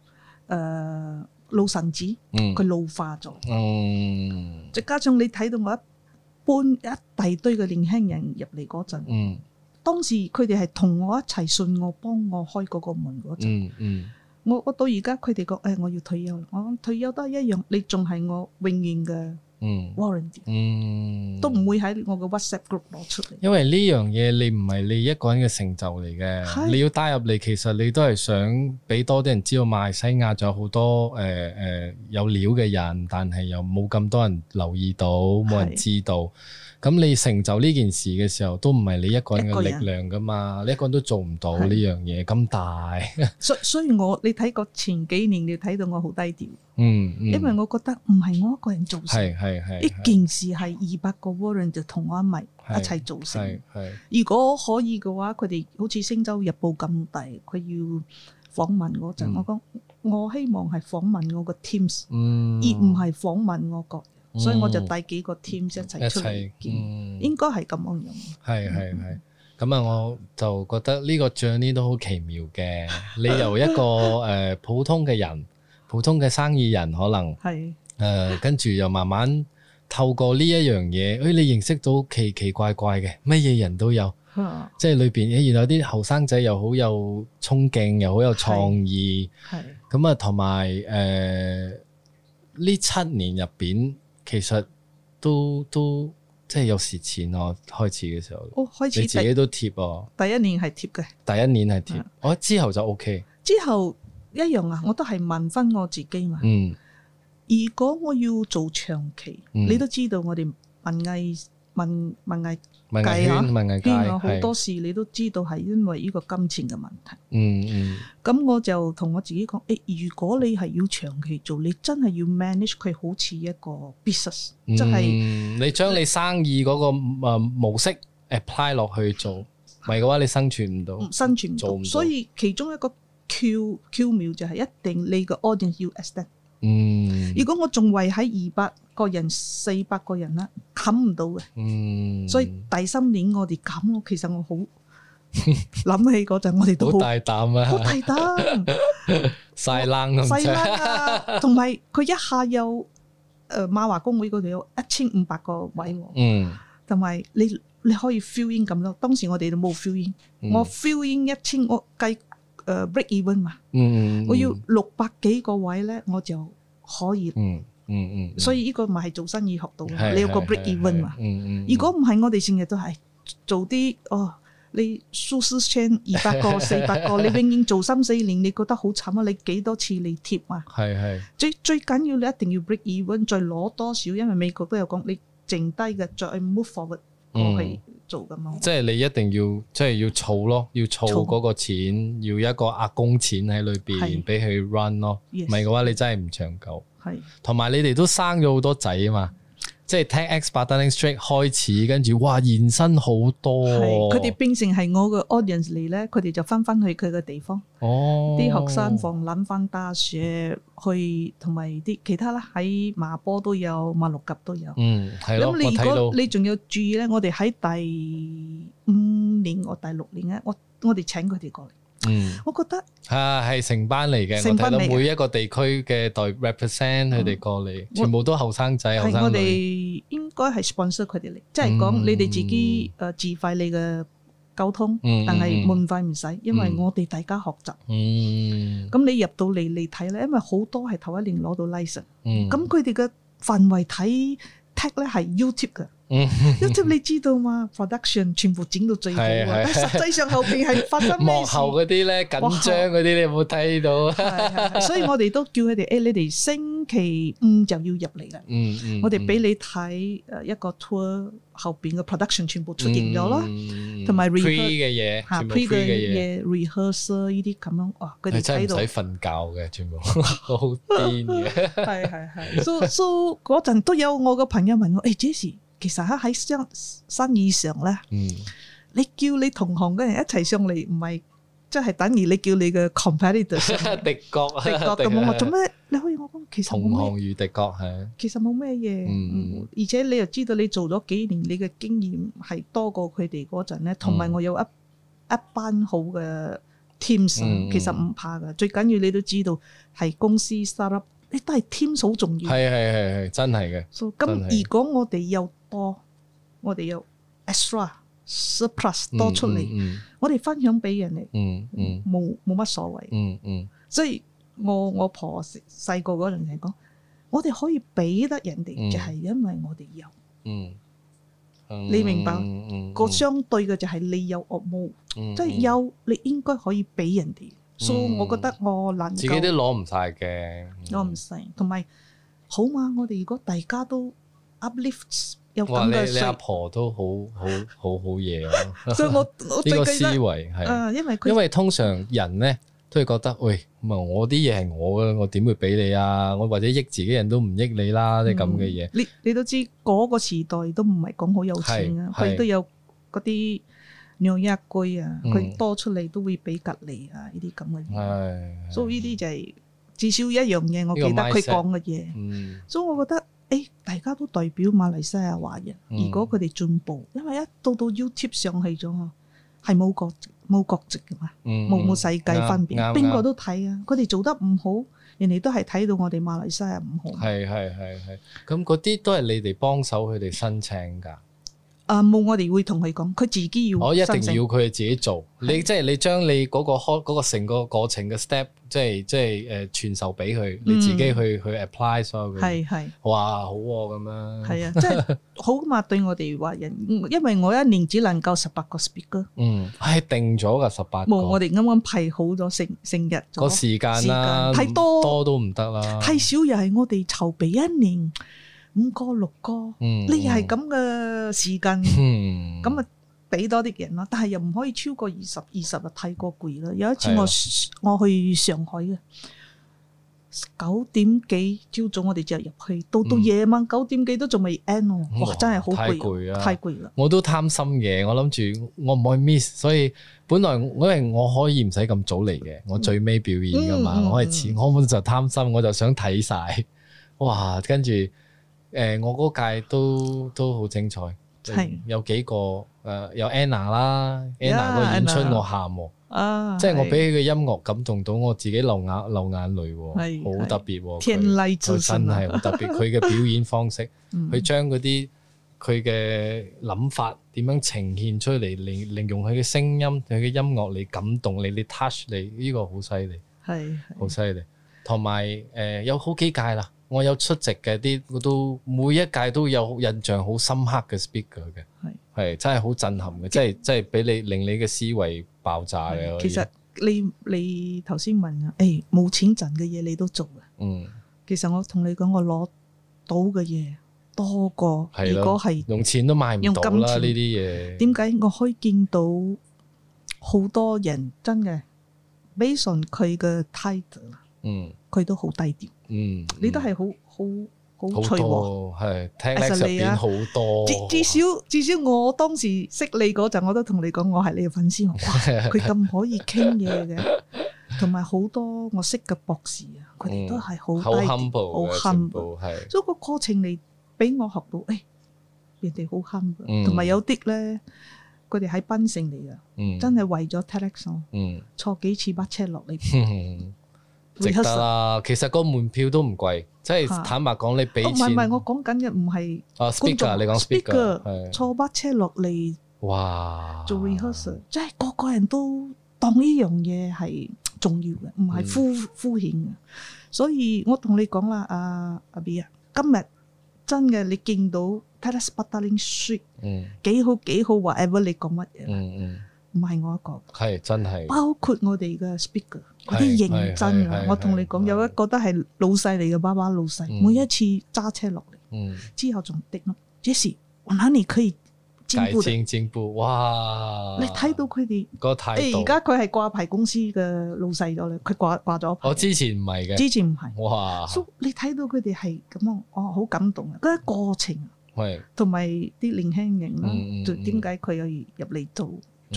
老臣子，佢老化咗，再加上你睇到我一大堆嘅年輕人入嚟嗰陣。當時佢哋係同我一齊信我，幫我開嗰個門嗰陣，我到而家佢哋講我要退休啦，我講退休都係一樣，你仲係我永遠嘅 warranty，都唔會喺我嘅 WhatsApp group 攞出嚟。 因為呢樣嘢你唔係你一個人嘅成就嚟嘅，你要帶入嚟，其實你都係想俾多啲人知道馬來西亞仲有好多有料嘅人，但係又冇咁多人留意到，冇人知道。咁你成就呢件事嘅時候，都唔係你一個人嘅力量噶嘛，你一個人都做唔到呢樣嘢咁大。 所以你睇過前幾年，你睇到我好低調。因為我覺得唔係我一個人做成，呢件事係200個 volunteer 就同我一齊做成。如果可以嘅話，佢哋好似《星洲日報》咁大，佢要訪問嗰陣，我講我希望係訪問我個 teams，而唔係訪問我個。所以我就帶幾個 team 一齊出嚟見，應該係咁樣。 係。咁啊，我就覺得呢個 journey 都好奇妙嘅。你由一個普通嘅人，普通嘅生意人，可能跟住又慢慢透過呢一樣嘢，你認識到奇奇怪怪嘅，乜嘢人都有。即係裏邊，原來啲後生仔又好有衝勁，又好有創意。咁啊，同埋呢7年入邊。其實都即係有蝕錢咯，開始嘅時候。開始你自己都貼喎。 第一年係貼嘅。 第一年係貼，之後就 OK。 之後一樣啊，我都係問翻我自己嘛。如果我要做長期，你都知道我哋文藝界啊，好多時你都知道係因為呢個金錢嘅問題。咁我就同我自己講，如果你係要長期做，你真係要 manage 佢好似一個 business，即係你將你生意嗰個模式 apply 落去做，唔係嘅話你生存唔到，做唔到。 所以其中一個巧妙就係一定你個 audience 要 extend。如果我仲圍喺200個人、400個人啦，冚唔到嘅。所以第3年我哋咁咯，其實我好諗起嗰陣，我哋都好大膽啊， 好大膽， 晒冷咁細冷啊，同埋佢一下有馬華公會嗰度有1500個位，同埋你可以 fill in 咁咯。當時我哋都冇 fill in，我 fill in 1000，我計break even 嘛，我要600幾個位咧，我就可以。所以呢個咪係做生意學到嘅，你有個 break even 嘛。如果唔係，我哋成日都係做啲你 social chain 200個、400個，你永遠做3-4年，你覺得好慘啊！你幾多次你貼啊？最緊要你一定要 break even， 再攞多少？因為美國都有講，你剩低嘅再 move forward 過去做咁咯。 即係你一定要要儲咯，要儲嗰個錢，要一個壓工錢喺裏邊俾佢 run 咯。唔係嘅話，你真係唔長久。同埋你哋都生咗好多仔啊嘛，即係 TEDx Petaling Street 開始，跟住哇延伸好多， 佢哋變成係我嘅 audience 嚟咧，佢哋就翻去佢嘅地方，啲學生放諗翻大學去，同埋啲其他啦，喺馬波都有，馬六甲都有。 係咯。 咁你如果你仲要注意咧，我哋喺第5年或第6年咧，我哋請佢哋過嚟。我覺得係成班嚟嘅，我睇到每一個地區嘅代 represent 佢哋過嚟，全部都後生仔後生女。 係我哋應該係 sponsor 佢哋嚟，即係講你哋自己自費你嘅溝通，但係門費唔使，因為我哋大家學習。咁你入到嚟你睇咧，因為好多係頭一年攞到 license，咁佢哋嘅範圍睇 tag 咧係 YouTube 嘅。YouTube 你知道嘛 ？production 全部整到最好，但實際上後邊係發生咩事？ 幕後嗰啲咧緊張嗰啲，你有冇睇到？ 所以我哋都叫佢哋，你哋星期5就要入嚟啦。我哋俾你睇一個 tour 後邊嘅 production 全部出現咗咯，同埋 pre 嘅嘢，全部 pre 嘅嘢 ，rehearsal 呢啲咁樣，哇！佢哋睇到真係唔使瞓覺嘅，全部好癲嘅。 係。So 嗰陣都有我個朋友問我，Jessie。其實喺生意上咧，你叫你同行嘅人一齊上嚟，唔係即係等於你叫你嘅 competitor 敵國咁。我做咩？你可以我講，其實同行如敵國係。 其實冇咩嘢，而且你又知道你做咗幾年，你嘅經驗係多過佢哋嗰陣咧。同埋我有一班好嘅 teams，其實唔怕㗎。最緊要你都知道係公司 startup，你都係 teams 好重要。 係真係嘅。 咁如果我哋有我哋有 extra surplus 多出嚟，我哋分享俾人哋，冇乜所謂。所以我婆細個嗰陣係講，我哋可以俾得人哋，就係因為我哋有。你明白？個相對嘅就係你有我冇，即係有你應該可以俾人哋。所以我覺得我能夠自己都攞唔晒嘅， 攞唔晒。同埋好嘛，我哋如果大家都 uplift。 哇！你阿婆都好嘢啊！ 所以我呢個思維係，因為通常人咧都係覺得，喂，咁啊，我啲嘢係我嘅，我點會俾你啊？我或者益自己人都唔益你啦，啲咁嘅嘢。你都知嗰個時代都唔係講好有錢啊，佢都有嗰啲養一居啊，佢多出嚟都會俾隔離啊，呢啲咁嘅嘢。所以呢啲就係至少一樣嘢，我記得佢講嘅嘢。所以我覺得。大家都代表馬來西亞華人，如果佢哋進步，因為一到 YouTube 上去咗，係冇國籍嘅嘛，冇世界分別，邊個都睇啊！佢哋做得唔好，人哋都係睇到我哋馬來西亞唔好。 係，咁嗰啲都係你哋幫手佢哋申請㗎。 冇，我哋會同佢講，佢自己要我一申請定要佢自己做。你即係你將你嗰個成個過程嘅 step，即係傳授俾佢，你自己去 apply 所有嘅。 係哇，好喎咁樣。 係啊，即係好嘛，對我哋華人，因為我一年只能夠18個 speaker。 係定咗㗎18個。 冇，我哋啱啱排好咗成日個時間啦， 太多都唔得啦， 太少又係我哋籌備一年5個6個，你又係咁嘅時間，咁啊俾多啲人咯，但係又唔可以超過20日，太過攰啦。有一次我去上海嘅9點幾朝早我哋就入去，到夜晚9點幾都仲未 end 喎，哇真係好攰，太攰啦。 我都貪心嘅，我諗住我唔可以 miss， 所以本來因為我可以唔使咁早嚟嘅，我最尾表演噶嘛，我係遲，我本就貪心，我就想睇晒，哇！跟住我嗰屆都好精彩。有幾個有 Anna 啦 ，Anna 個演出我喊喎，即係我俾佢嘅音樂感動到我自己流眼淚喎，好特別喎， 天籟之聲真係好特別，佢嘅表演方式，佢將嗰啲佢嘅諗法點樣呈現出嚟，利用佢嘅聲音、佢嘅音樂嚟感動你 touch 你，呢個好犀利，係好犀利，同埋有好幾屆啦。我有出席嘅啲，我都每一屆都有印象好深刻嘅 speaker 嘅，係真係好震撼嘅，即係俾你令你嘅思維爆炸嘅。 其實你頭先問啊，冇錢賺嘅嘢你都做嘅，其實我同你講，我攞到嘅嘢多過如果係用錢都買唔到啦呢啲嘢。點解我可以見到好多人真嘅 based on 佢嘅 title，佢都好低調。你都係好脆和， 係聽叻入邊好多。 至少我當時識你嗰陣，我都同你講我係你嘅粉絲。哇，佢咁可以傾嘢嘅，同埋好多我識嘅博士啊，佢哋都係好低調，好 humble。所以個過程你俾我學到，人哋好 humble，同埋有啲咧，佢哋喺檳城嚟嘅，真係為咗 TEDx，坐幾次巴車落嚟。 值得啦，其實個門票都唔貴，即係坦白講，你俾錢。 唔係，我講緊嘅唔係 speaker，你講 speaker， 坐巴車落嚟， 哇， 做 rehearsal，即係個個人都當呢樣嘢係重要嘅，唔係敷衍嘅。所以我同你講啦，阿 B 啊，今日真嘅你見到 TEDx Petaling Street，幾好 whatever 你講乜嘢，唔係我一個， 係真係， 包括我哋嘅 speaker。嗰啲認真啊！我同你講，有一個都係老細嚟嘅，爸爸老細，每一次揸車落嚟，之後仲滴咯。Jessie，我哪裡可以進步？ 哇！ 你睇到佢哋個態度， 而家佢係掛牌公司嘅老細咗咧，佢掛咗牌。 我之前唔係嘅， 之前唔係。 哇！ 你睇到佢哋係咁啊，我好感動啊！嗰個過程，同埋啲年輕人啦，點解佢又入嚟做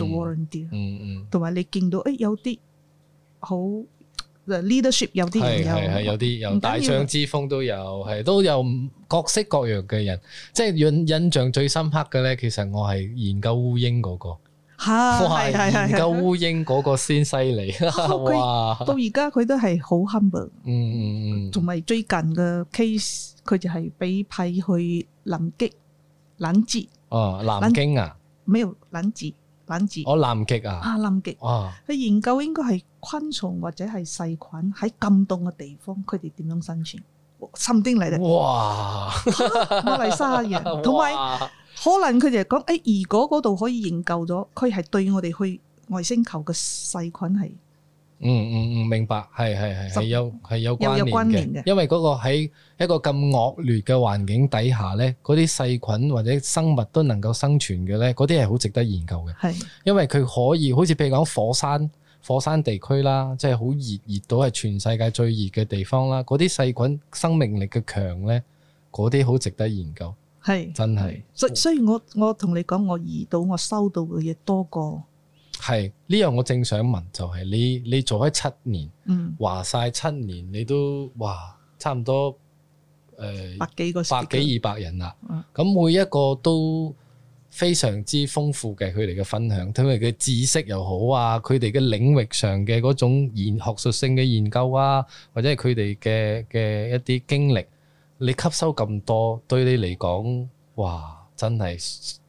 volunteer？同埋你見到有啲。好 leadership 有啲人係有啲有大將之風都有，係都有各式各樣嘅人。即係印象最深刻嘅咧，其實我係研究烏蠅嗰個，研究烏蠅嗰個先犀利。哇！ 到而家佢都係好 humble。同埋最近嘅 case， 佢就係俾派去南極冷節。 南京啊？ 沒有冷節。南極南極啊！ 南極佢研究應該係昆蟲或者係細菌喺咁凍嘅地方，佢哋點樣生存？甚丁嚟嘅。哇！馬來西亞人，同埋可能佢哋講，如果嗰度可以研究咗，佢係對我哋去外星球嘅細菌係。 明白，係有關聯嘅，因為嗰個喺一個咁惡劣嘅環境底下咧，嗰啲細菌或者生物都能夠生存嘅咧，嗰啲係好值得研究嘅。係，因為佢可以好似譬如講火山地區啦，即係好熱到係全世界最熱嘅地方啦，嗰啲細菌生命力嘅強咧，嗰啲好值得研究。係，真係。 所以我同你講，我收到嘅嘢多過。 係呢樣我正想問，就係你做咗7年，話晒7年，你都差唔多百幾 200人啦。咁每一個都非常之豐富嘅，佢哋嘅分享，佢哋嘅知識又好啊，佢哋嘅領域上嘅嗰種學術性嘅研究啊，或者係佢哋嘅一啲經歷，你吸收咁多，對你嚟講，真係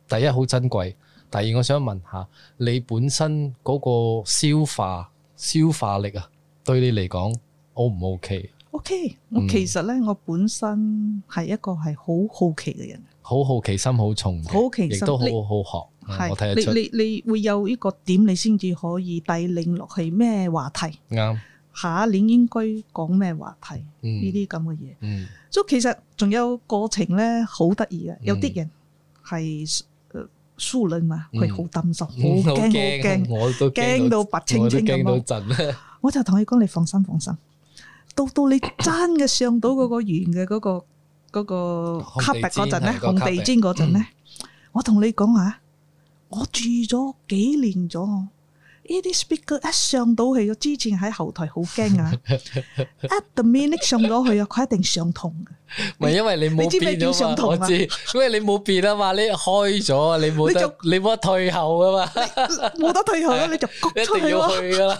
第一好珍貴，第二我想問下你本身嗰個消化力啊，對你嚟講 O 唔 OK？OK， 我其實咧，我本身係一個係好好奇嘅人， 好奇心好重嘅， 好奇心亦都好好學。 係我睇得出你會有呢個點，你先至可以帶領落去咩話題。 啱。 下一年應該講咩話題？呢啲咁嘅嘢。所以其實仲有過程咧，好得意嘅。有啲人係疏離嘛，佢好擔心，好驚， 我都驚到白青青咁咯。 我就同佢講：你放心。到你真嘅上到嗰個圓嘅嗰個卡壁嗰陣咧，紅地氈嗰陣咧，我同你講啊，我住咗幾年咗，呢啲 speaker 一上到去，之前喺後台好驚啊，at the minute 上咗去啊，佢一定上堂嘅。 唔係因為你冇變啊嘛，我知，因為你冇變啊嘛，你開咗，你冇得退後噶嘛， 冇得退後啦，你就焗出去咯。 一定要去噶啦。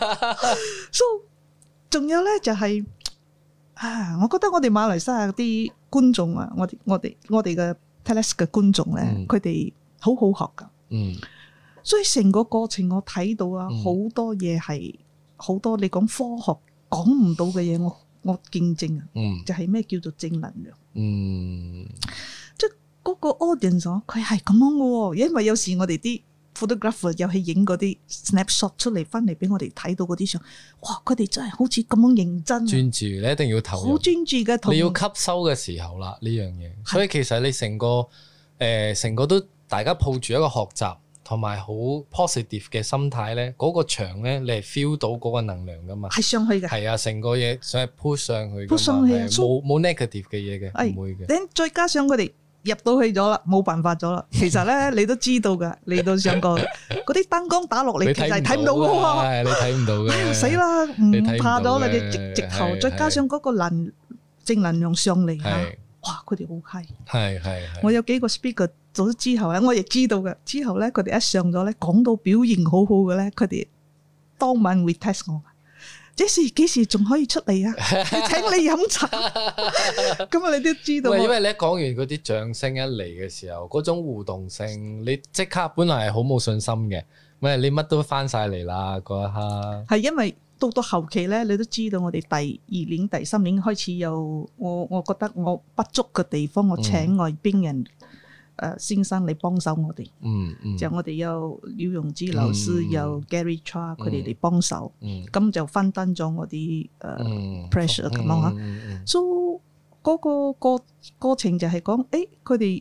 So 仲有咧就係我覺得我哋馬來西亞啲觀眾啊，我哋嘅 Teles 嘅觀眾咧，佢哋好好學噶。所以成個過程我睇到啊，好多嘢係好多你講科學講唔到嘅嘢，我見證啊，就係咩叫做正能量。即係嗰個 audience 佢係咁樣嘅喎，因為有時我哋啲 photographer 又去影嗰啲 snapshot 出嚟，翻嚟俾我哋睇到嗰啲相，哇！佢哋真係好似咁樣認真，專注，你一定要投入， 好專注嘅， 你要吸收嘅時候啦呢樣嘢。所以其實你成個都大家抱住一個學習同埋好 positive 嘅心態咧，嗰個場咧你係 feel 到嗰個能量噶嘛，係上去嘅，係啊，成個嘢想係 push 上去，push 上去，冇 negative 嘅嘢嘅，唔會嘅。再加上佢哋入到去咗啦，冇辦法咗啦。其實咧，你都知道噶，嚟到上個嗰啲燈光打落嚟，其實睇唔到嘅喎。係你睇唔到嘅。死啦，唔怕咗啦！你直頭，再加上嗰個正能量上嚟嚇，哇！佢哋好 high。係。我有幾個 speaker 做咗之後咧，我亦知道嘅。之後咧，佢哋一上咗咧，講到表現好好嘅咧，佢哋當晚會 test 我。幾時仲可以出嚟啊？請你飲茶，咁啊你都知道。因為你一講完嗰啲掌聲一嚟嘅時候，嗰種互動性，你即刻本來係好冇信心嘅，咪你乜都翻晒嚟啦嗰一刻。係因為到後期咧，你都知道我哋第2年、第3年開始有我覺得我不足嘅地方，我請外邊人。先生嚟幫手我哋，就我哋有廖容之老師，有 Gary Cha 佢哋嚟幫手，咁就分擔咗我啲pressure 咁樣嚇。所以嗰個過程就係講，佢哋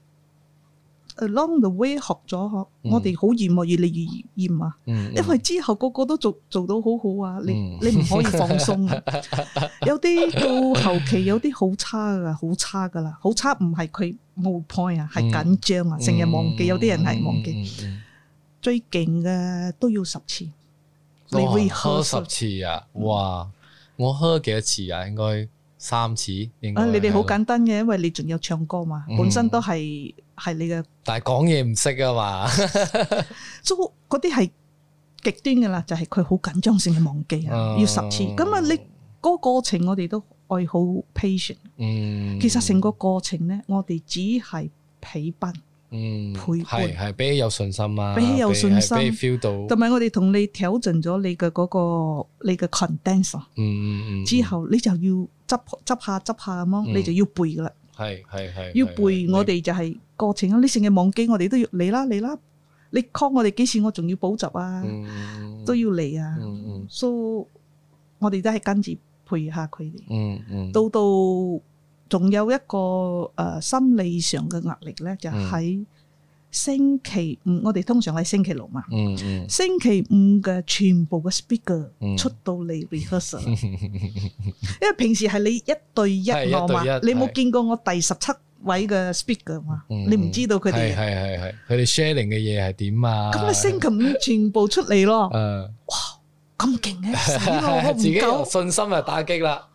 along the way 學咗，我哋好厭啊，越嚟越厭啊，因為之後個個都做到好好啊，你唔可以放鬆啊。有啲到後期有啲好差噶啦，好差唔係佢冇 point 啊，係緊張啊，成日忘記，有啲人係忘記。最勁嘅都要10次，你會喝10次啊？哇！我喝幾多次啊？應該3次。你哋好簡單嘅，因為你仲有唱歌嘛，本身都係你嘅。但係講嘢唔識啊嘛，所以嗰啲係極端嘅啦，就係佢好緊張性嘅忘記啊，要10次。咁啊，你嗰個過程我哋都愛好 patient。其實成個過程咧，我哋只係陪伴。陪伴係俾你有信心啊，俾你有信心，俾你 feel 到，同埋我哋同你挑戰咗你嘅嗰個你嘅 condenser，之後你就要執下咁樣，你就要背噶啦，係要背。我哋就係過程啊，你成日忘記，我哋都要嚟啦，你 call 我哋幾時，我仲要補習啊，都要嚟啊，所以我哋都係跟住陪下佢哋，到。仲有一個心理上嘅壓力咧，就喺星期五，我哋通常喺星期六嘛。星期五嘅全部嘅 speaker 出到嚟 rehearsal，因為平時係你1對1我嘛，你冇見過我第17位嘅 speaker 嘛，你唔知道佢哋係佢哋 sharing 嘅嘢係點啊？咁你星期五全部出嚟咯，哇咁勁嘅，死咯，我唔夠信心啊，打擊啦。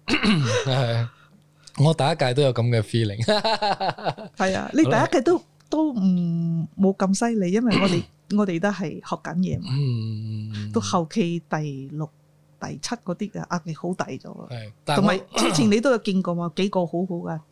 我第一屆都有咁嘅 feeling， 係啊，你第一屆都唔冇咁犀利，因為我哋都係學緊嘢嘛。到後期第6、第7嗰啲嘅壓力好大咗，同埋之前你都有見過嘛，幾個好好噶，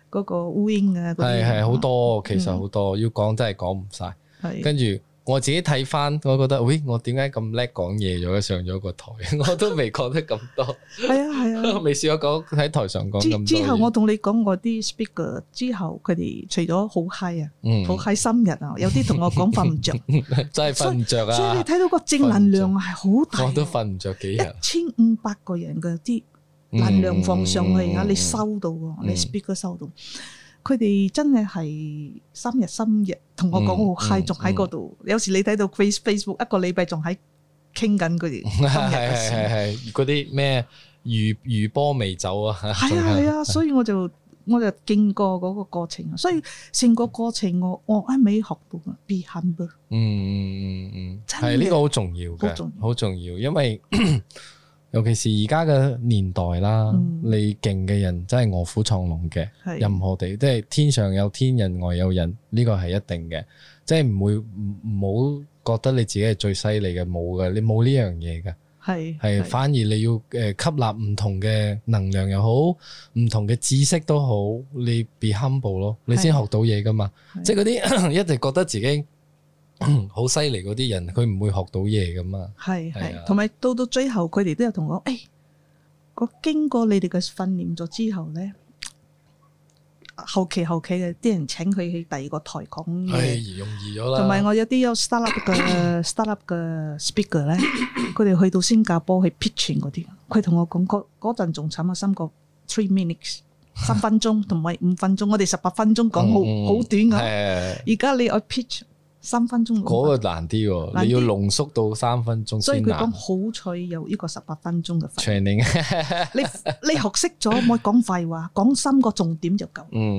嗰個烏蠅啊， 係好多，其實好多要講真係講唔晒。跟住我自己睇翻，我覺得，喂，我點解咁叻講嘢咗？上咗個台，我都未講得咁多。 係啊， 未試過講喺台上講咁多。 之後我同你講我啲 speaker 之後，佢哋除咗好 high 啊，好 high 深日啊，有啲同我講瞓唔着， 真係瞓唔着啊！ 所以你睇到個正能量係好大。 我都瞓唔着幾日。 1500個人嘅啲能量放上去啊，你收到喎，你 speaker 收到。佢哋真係深日同我講好 high，仲喺嗰度。有時你睇到 Facebook 一個禮拜仲喺傾緊佢哋今日嘅事。 係嗰啲咩餘波未走啊？ 係啊，所以我就經過嗰個過程，所以成個過程我一味學到 be humble。 係呢個好重要嘅，好重要，因為尤其是而家嘅年代啦，你勁嘅人真係臥虎藏龍嘅，任何地即係天上有天，人外有人，呢個係一定嘅，即係唔好覺得你自己係最犀利嘅，冇嘅，你冇呢樣嘢嘅，係反而你要吸納唔同嘅能量又好，唔同嘅知識都好，你 be humble 咯，你先學到嘢噶嘛，即係嗰啲一直覺得自己好犀利嗰啲人，佢唔會學到嘢噶嘛。係， 同埋到最後，佢哋都有同我我經過你哋嘅訓練咗之後咧，後期嘅啲人請佢去第二個台講嘢， 容易咗啦。同埋我有啲有 startup 嘅 speaker 咧，佢哋去到新加坡去 pitching 嗰啲，佢同我講嗰陣仲慘啊，3 minutes 3分鐘，同埋5分鐘，我哋18分鐘講好短噶。而家你愛 pitch 3分鐘， 嗰個難啲喎，你要濃縮到3分鐘先難。 所以佢講好彩有呢個18分鐘嘅 training，你學識咗，唔好講廢話，講3個重點就夠。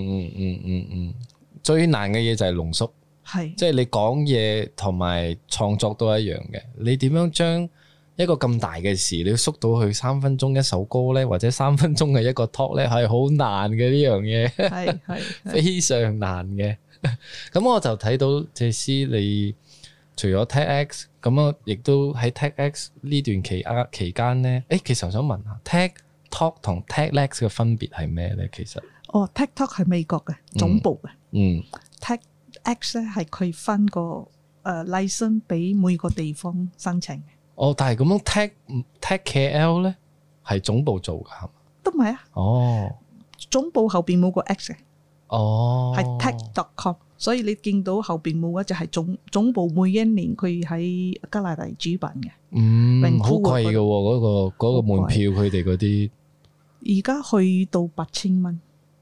最難嘅嘢就係濃縮，即係你講嘢同埋創作都一樣嘅。你點樣將一個咁大嘅事，你要縮到去3分鐘一首歌咧，或者3分鐘嘅一個 talk 咧，係好難嘅呢樣嘢，係非常難嘅。咁我就睇到謝師，你除咗 TEDx 咁啊，亦都喺 TEDx 呢段期間咧，其實我想問下 TED Talk 同 TEDx 嘅分別係咩咧？其實 TED Talk 係美國嘅總部嘅，TEDx 咧係佢分個license 俾每個地方申請嘅。但係咁樣 TED KL 咧係總部做㗎係嘛？都唔係啊。總部後邊冇個 X 嘅。係 TED.com， 所以你見到後邊冇嘅就係總部每一年佢喺加拿大主辦嘅， 好貴嘅嗰個門票，佢哋嗰啲而家去到8000蚊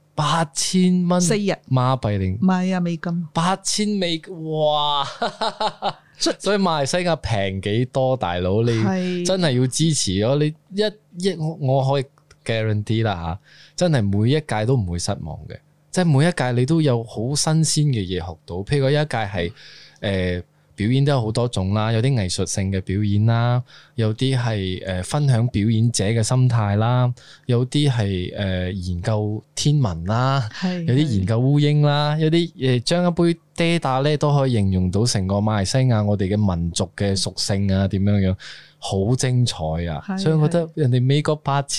，8000蚊 4日馬幣定？ 唔係啊，美金 8000美，哇！所以馬來西亞平幾多，大佬你真係要支持咯！你我可以 guarantee 啦吓，真係每一屆都唔會失望嘅。即係每一屆你都有好新鮮嘅嘢學到，譬如有一屆係表演都有好多種啦，有啲藝術性嘅表演啦，有啲係分享表演者嘅心態啦，有啲係研究天文啦，有啲研究烏蠅啦，有啲將一杯爹打咧都可以形容到成個馬來西亞我哋嘅民族嘅屬性啊，點樣樣好精彩啊！所以我覺得人哋美國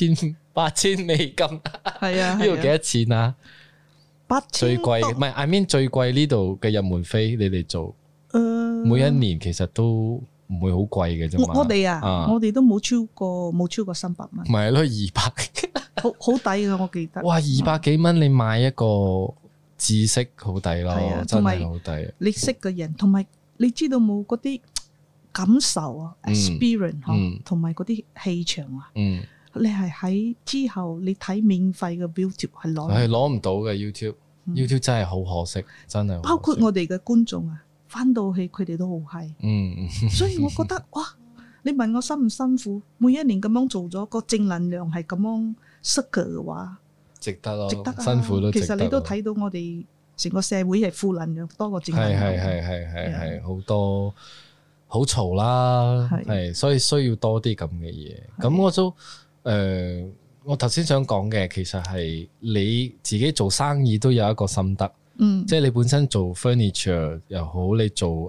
8000美金，呢度幾多錢啊？最貴唔係 I mean 最貴呢度嘅入門飛，你哋做每一年其實都唔會好貴嘅啫嘛。我哋都冇超過300蚊。唔係咯，200 好抵㗎，我記得。 哇，200幾蚊你買一個知識好抵咯，真係好抵。 你識嘅人，同埋你知道冇嗰啲感受啊 ，experience 同埋嗰啲氣場啊。你係喺之後你睇免費嘅 YouTube 係攞唔到嘅 YouTube 真係好可惜，真係。 包括我哋嘅觀眾啊，翻到去佢哋都好嗨。所以我覺得哇，你問我辛唔辛苦？每一年咁樣做咗個正能量係咁樣塞嘅話， 值得咯，值得辛苦都值得。 其實你都睇到我哋成個社會係負能量多過正能量。 係好多好嘈啦，係所以需要多啲咁嘅嘢。咁我都。我頭先想講嘅，其實係你自己做生意都有一個心得，即係你本身做 furniture 又好，你做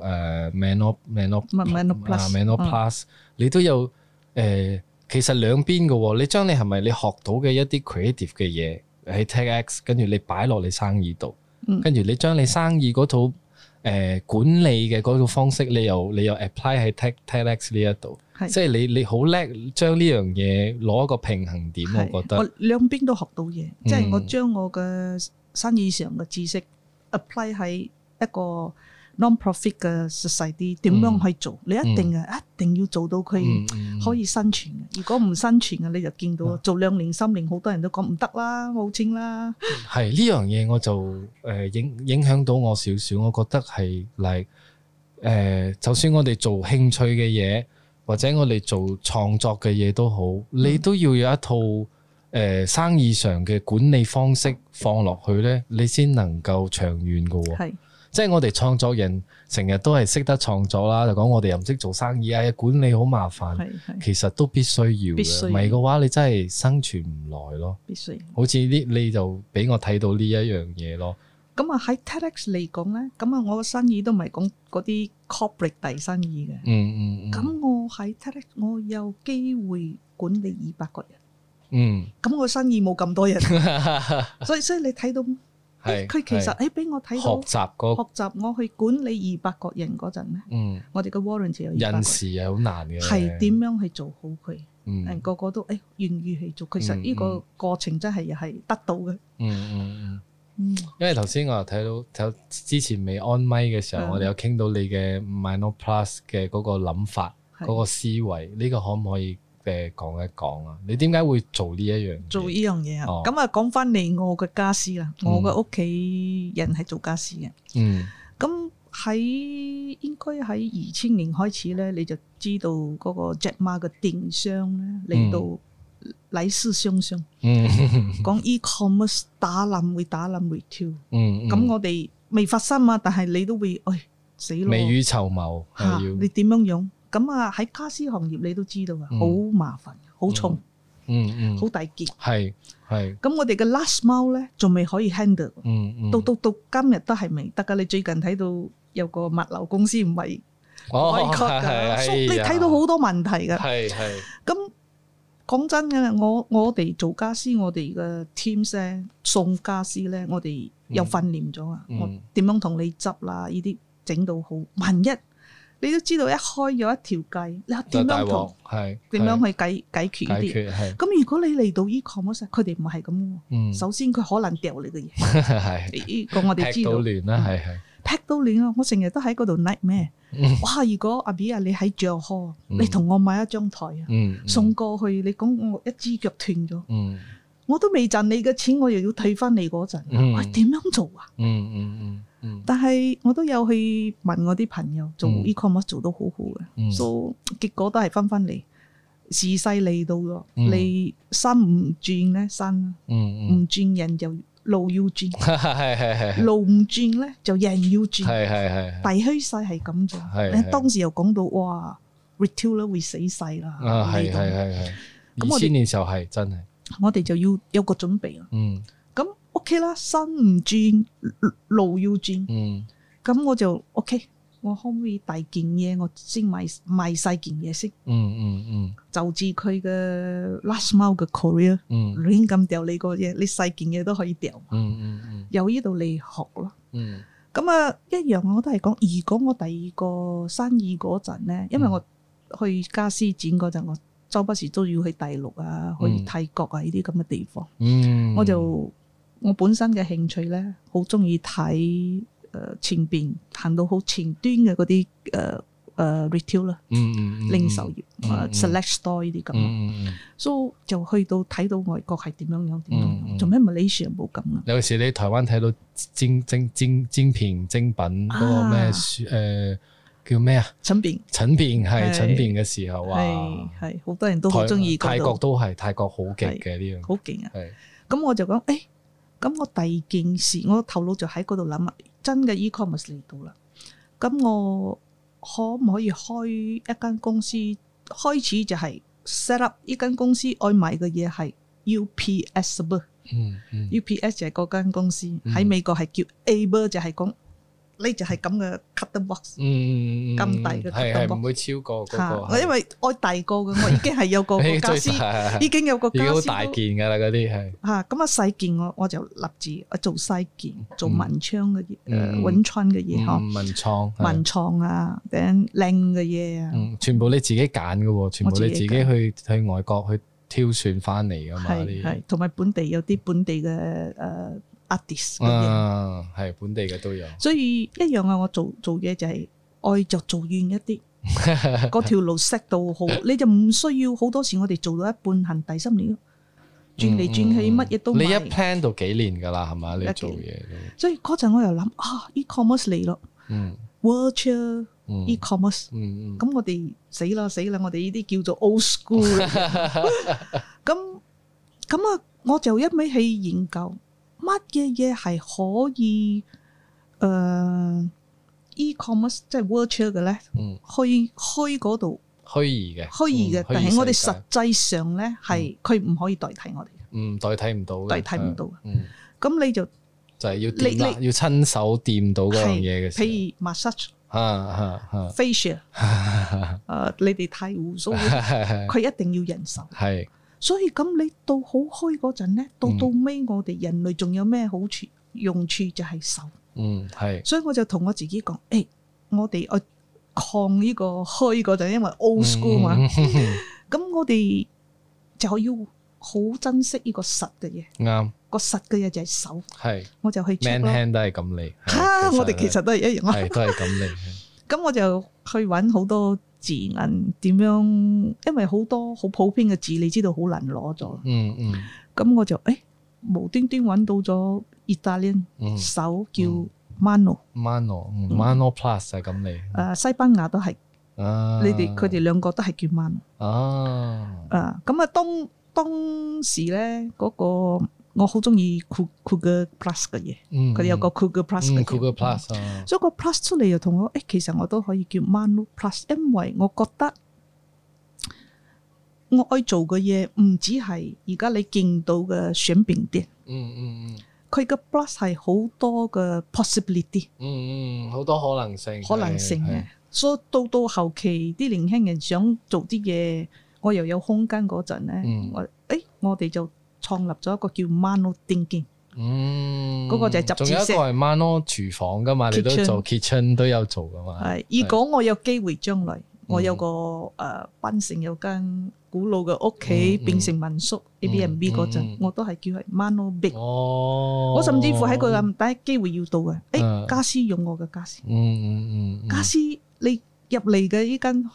Manoplus，你都有其實兩邊嘅喎。你將你係咪你學到嘅一啲 creative 嘅嘢， 喺 TEDx， 跟住你擺落你生意度，跟住你將你生意嗰套管理嘅嗰套方式，你又 apply 喺 TEDx 呢一度，即係你好叻將呢樣嘢攞一個平衡點，我覺得我兩邊都學到嘢，即係我將我嘅生意上嘅知識 apply 喺一個 non-profit 嘅 society 點樣去做，你一定要做到佢可以生存嘅。如果唔生存嘅，你就見到做2年3年，好多人都講唔得啦，冇錢啦。 係呢樣嘢我就影響到我少少，我覺得係就算我哋做興趣嘅嘢，或者我哋做創作嘅嘢都好，你都要有一套生意上嘅管理方式放落去咧，你先能夠長遠㗎喎。即係我哋創作人成日都係識得創作啦，就講我哋又唔識做生意啊，管理好麻煩，其實都必須要嘅，唔係嘅話你真係生存唔耐咯。必須，好似你就俾我睇到呢一樣嘢咯。 咁啊喺 TEDx 嚟講咧，咁啊我嘅生意都唔係講嗰啲 corporate 大生意嘅。咁我喺 TEDx 我有機會管理200個人。咁我生意冇咁多人，所以你睇到。佢其實俾我睇到學習我去管理200個人嗰陣咧，我哋嘅 warranty 有人事係好難嘅， 係點樣去做好佢？個個都願意去做，其實呢個過程真係又係得到嘅。 因為頭先我又睇到之前未安咪嘅時候，我哋有傾到你嘅 MinoPlus 嘅嗰個諗法，嗰個思維，呢個可唔可以講一講啊？你點解會做呢一樣嘢？做呢樣嘢啊？咁啊，講翻嚟我嘅家私啦，我嘅屋企人係做家私嘅。咁應該喺2000年開始咧，你就知道嗰個 Jack Ma 嘅電商咧嚟到來勢洶洶。講 e-commerce 會打冧 retail。咁我哋未發生啊，但係你都會死咯。 未雨綢繆你點樣用？咁啊喺家私行業你都知道啊，好麻煩，好重，好大件。係。咁我哋嘅 last mile 咧仲未可以 handle。到今日都係未得噶。你最近睇到有個物流公司唔係開㗎，你睇到好多問題㗎。咁講真嘅，我哋做家私，我哋嘅 teams 咧送家私咧，我哋有訓練咗啊。我點樣同你執啦？呢啲整到好，萬一你都知道一開咗一條計，你點樣去解決呢啲？咁如果你嚟到 e-commerce，佢哋唔係咁喎。首先佢可能掉你嘅嘢，呢個我哋知道。劈到亂啦，劈到亂啊！我成日都喺嗰度 nightmare。哇！如果阿 B 啊，你喺著河，你同我買一張台啊，送過去，你講我一支腳斷咗，我都未賺你嘅錢，我又要退翻你嗰陣，我點樣做啊？但係我都有去問我啲朋友做 e-commerce 做得好好嘅，所以結果都係翻嚟。時勢嚟到咗，你山唔轉咧，山唔轉人就路要轉，路唔轉咧就人要轉，大趨勢係咁做。當時又講到哇 ，retailer 會死細啦。 咁2000年時候係真係， 我哋就要有個準備啦。咁 OK 啦，山唔轉，路要轉。咁我就 OK， 我可唔可以大件嘢我先賣細件嘢先？就至佢嘅 last mile 嘅 career，亂咁掉你個嘢，你細件嘢都可以掉。由呢度嚟學咯。咁啊，一樣我都係講，如果我第二個生意嗰陣咧，因為我去家私展嗰陣，我周不時都要去大陸啊，去泰國啊呢啲咁嘅地方。我本身嘅興趣咧，好中意睇前邊行到好前端嘅嗰啲retail 啦，零售業select store 呢啲咁，所以就去到睇到外國係點樣，做咩 Malaysia 冇咁啊？ 有時你台灣睇到精品嗰個咩叫咩啊？陳變嘅時候啊， 係好多人都好中意。 泰國都係，泰國好勁嘅呢樣， 好勁啊！咁我就講咁我第二件事，我頭腦就喺嗰度諗啊，真嘅 e-commerce 嚟到啦，咁我可唔可以開一間公司？開始就係 set up 呢間公司愛賣嘅嘢係 UPS，UPS 就係嗰間公司喺美國係叫 Able，就係講呢就係咁嘅 cutting box，咁大嘅 cutting 係 box 唔會超過嗰個。 因為我大個嘅，我已經係有個家私，已經有個家私好大件㗎啦，嗰啲係咁啊細件我就立志做細件，做文昌嘅嘢，文創嘅嘢嗬，文創啊，頂靚嘅嘢啊， 全部你自己揀嘅喎，全部你自己去外國去挑選翻嚟㗎嘛， 係同埋本地有啲本地嘅artist 嘅嘢， 係本地嘅都有， 所以一樣啊！我做嘢就係愛就做遠一啲，嗰條路 set 到好，你就唔需要好多時我哋做到一半行第三年，轉嚟轉去乜嘢都買。 你一 plan 到幾年㗎啦，係嘛？你做嘢， 所以嗰陣我又諗e-commerce 嚟咯，virtual e-commerce，咁我哋死啦！我哋呢啲叫做 old school 咁啊，我就一味去研究。乜嘢係可以e-commerce 即係 virtual 嘅咧？虛嗰度虛擬嘅，但係我哋實際上咧係佢唔可以代替我哋嘅， 代替唔到嘅， 代替唔到。咁你就係要掂啦，要親手掂到嗰樣嘢嘅時候， 譬如 massage、facial， 你哋剃鬍鬚，佢一定要人手。係。所以咁你到好虛嗰陣咧，到尾我哋人類仲有咩好處用處就係手。係。所以我就同我自己講，我哋抗呢個虛嗰陣，因為 old school 嘛。咁我哋就要好珍惜呢個實嘅嘢。啱。個實嘅嘢就係手。係。我就去 check 咯。Man hand 都係咁嚟。 我哋其實都係一樣。 係都係咁嚟。 咁我就去揾好多字眼點樣，因為好多好普遍嘅字，你知道好難攞咗。咁我就無端端揾到咗意大利手叫 Mano Plus 係咁嚟。 西班牙都係。佢哋兩個都係叫 Mano。咁啊，當時咧嗰個。我好中意 Cougar Plus 嘅嘢，佢哋有個 Cougar Plus 嘅嘢，所以個 Plus 出嚟又同我，其實我都可以叫 Mano Plus， 因為我覺得我愛做嘅嘢唔止係而家你見到嘅選餅店，佢嘅 Plus 係好多嘅 possibility， 好多可能性嘅，所以到後期啲年輕人想做啲嘢，我又有空間嗰陣咧，我哋就創立咗一個叫 Mano Thinking， 嗰個就係執字聲。仲有一個係 Mano 廚房噶嘛，你都做 kitchen 都有做噶嘛。係，如果我有機會將來，我有個檳城有間古老嘅屋企變成民宿 Airbnb 嗰陣，我都係叫係 Mano Big。我甚至乎喺個第一機會要到嘅，家私用我嘅家私。家私你入嚟嘅呢間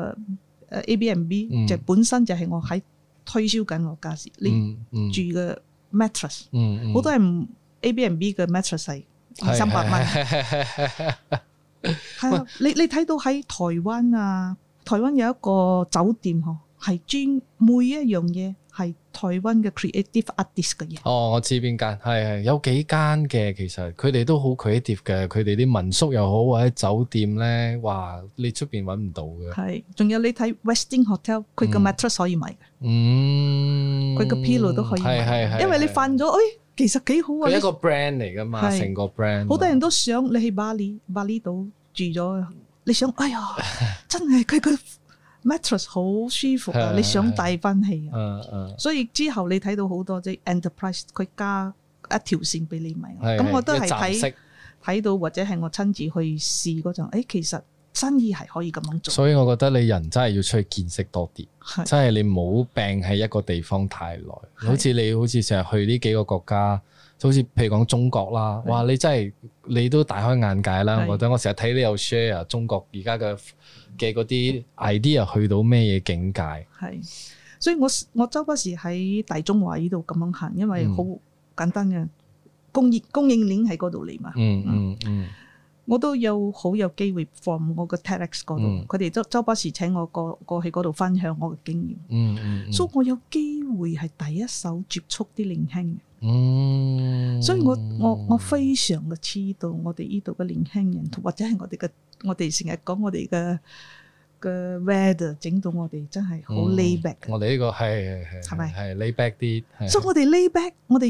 Airbnb 就本身就係我喺推銷緊我家私，你住嘅 mattress，好多人 Airbnb 嘅 mattress 係200-300蚊，係啊！你睇到喺台灣啊，台灣有一個酒店嗬，係專每一樣嘢係台灣嘅 creative artist 嘅嘢。 我知邊間，係有幾間嘅，其實佢哋都好 creative 嘅，佢哋啲民宿又好或者酒店咧，哇！你出邊揾唔到嘅。係， 仲有你睇 Westin Hotel， 佢嘅 mattress 可以買嘅。佢嘅 pillow 都可以買，因為你瞓咗，其實幾好啊！ 佢一個 brand 嚟噶嘛，成個 brand。 好多人都想你去巴厘島住咗，你想，真係佢個 mattress 好舒服啊！你想帶翻去啊？所以之後你睇到好多即係 enterprise， 佢加一條線俾你買。咁我都係睇到或者係我親自去試嗰陣，其實生意係可以咁樣做。所以我覺得你人真係要出去見識多啲，真係你冇病喺一個地方太耐。好似你好似成日去呢幾個國家，好似譬如講中國啦，哇！你真係你都大開眼界啦。我覺得我成日睇你有 share 中國而家嘅嗰啲 idea 去到咩嘢境界。係， 所以我周不時喺大中華呢度咁樣行，因為好簡單嘅供應鏈喺嗰度嚟嘛。我都好有機會 from 我個 TEDx 嗰度，佢哋周不時請我過去嗰度分享我嘅經驗。所以我有機會係第一手接觸啲年輕人。所以我非常嘅知道我哋呢度嘅年輕人，或者係我哋成日講我哋嘅 weather 整到我哋真係好 lay back。 我哋呢個係咪係 lay back 啲？ 所以我哋 lay back，我哋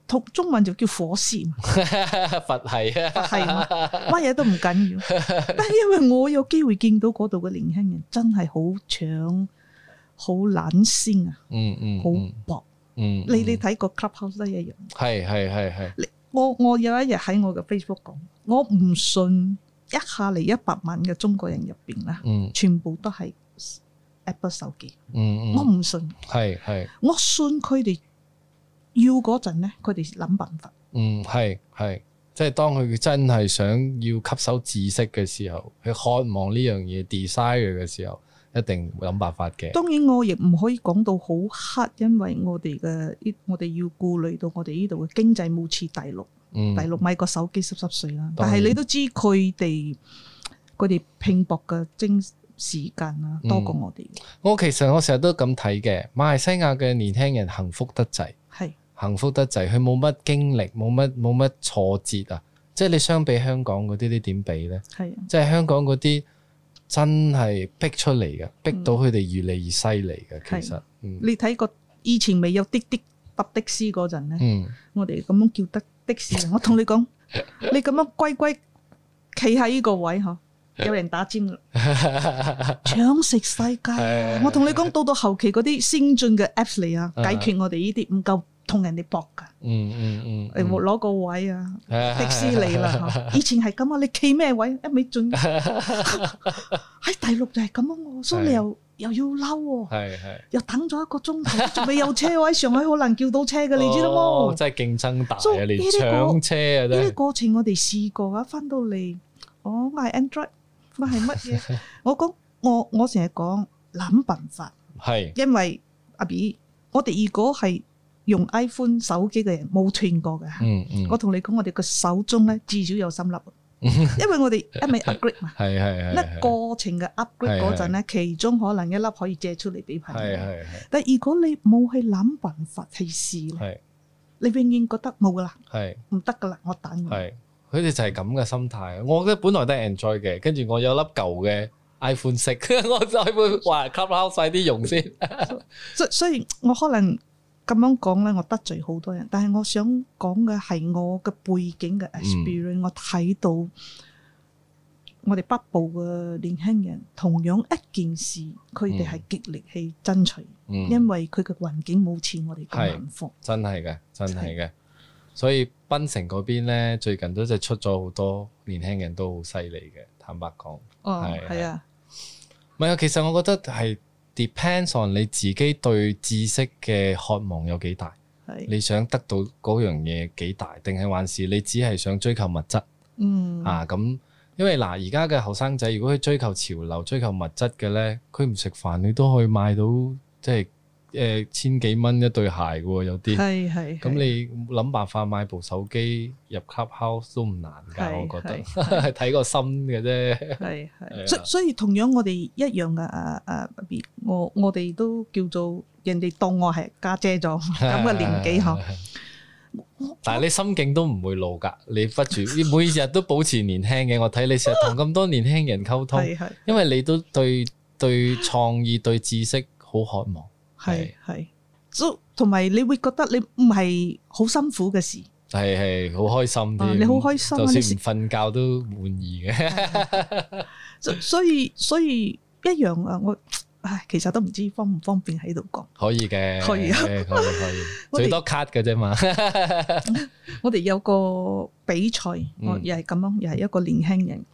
中文就叫火線， 佛系啊， 係乜嘢都唔緊要。但係因為我有機會見到嗰度嘅年輕人，真係好搶、好懶先啊，好薄。你睇個 Clubhouse 都一樣。係。我有一日喺我嘅 Facebook 講，我唔信一下嚟100萬嘅中國人入邊啦，全部都係 Apple 手機。我唔信。係。我信佢哋。要嗰陣咧，佢哋諗辦法。係，即係當佢真係想要吸收知識嘅時候，佢渴望呢樣嘢 desire 嘅時候，一定會諗辦法嘅。當然我亦唔可以講到好黑，因為我哋要顧慮到我哋呢度嘅經濟冇似大陸，大陸買個手機濕碎啦。但係你都知佢哋拼搏嘅時間啊，多過我哋。其實我成日都咁睇嘅，馬來西亞嘅年輕人幸福得滯。幸福得滯，佢冇乜經歷，冇乜挫折啊！即係你相比香港嗰啲，你點比呢？即係香港嗰啲真係逼出嚟嘅，逼到佢哋越嚟越犀利嘅。其實，你睇過以前未有滴滴搭的士嗰陣呢，我哋咁樣叫的士。我同你講，你咁樣乖乖企喺呢個位嗬，有人打尖啦，搶食世界。我同你講，到後期嗰啲先進嘅 apps 嚟啊，解決我哋呢啲唔夠。同人哋搏噶，攞個位啊，的士嚟啦。以前係咁啊，你企咩位？一味進喺大陸就係咁啊，所以你又要嬲喎，又等咗1個鐘頭，仲未有車位。上海好難叫到車嘅，你知道冇？真係競爭大啊！你搶車啊！呢啲過程我哋試過啊，翻到嚟，我係 Android， 我係乜嘢？我講我成日講諗辦法，因為阿 B， 我哋如果係用 iPhone 手機嘅人冇斷過嘅，我同你講，我哋個手中咧至少有3粒，因為我哋一味 upgrade 嘛，一過程嘅 upgrade 嗰陣咧，其中可能1粒可以借出嚟俾朋友，但係如果你冇去諗辦法去試咧，你永遠覺得冇噶啦，唔得噶啦，我等。佢哋就係咁嘅心態。我覺得本來都係 Android 嘅，跟住我有粒舊嘅 iPhone 6，我就會話 Clubhouse 快啲用先。所以我可能。咁樣講咧，我得罪好多人，但係我想講嘅係我嘅背景嘅 experience，我睇到我哋北部嘅年輕人同樣一件事，佢哋係極力去爭取，因為佢嘅環境冇似我哋咁幸福。真係嘅。所以檳城嗰邊咧，最近都就出咗好多年輕人都好犀利嘅，坦白講。係啊，唔係啊，其實我覺得係。Depends on 你自己對知識嘅渴望有幾大，你想得到嗰樣嘢幾大，定係還是你只係想追求物質？咁，因為而家嘅後生仔，如果佢追求潮流、追求物質嘅咧，佢唔食飯，你都可以買到即係千幾蚊一對鞋嘅喎，有啲。咁你諗辦法買部手機入 Clubhouse 都唔難㗎，我覺得係睇個心嘅啫。所以同樣我哋一樣嘅我哋都叫做人哋當我係家姐咗咁嘅年紀嗬。但係你心境都唔會老㗎，你不住你每日都保持年輕嘅。我睇你成日同咁多年輕人溝通，因為你都對創意、對知識好渴望。係，同埋你會覺得你唔係好辛苦嘅事，係好開心啲。你好開心，就算唔瞓覺都滿意嘅。所以一樣啊，其實都唔知方唔方便喺度講。可以嘅，可以，最多 cut 嘅啫嘛。我哋有個比賽，又係咁樣，又係一個年輕人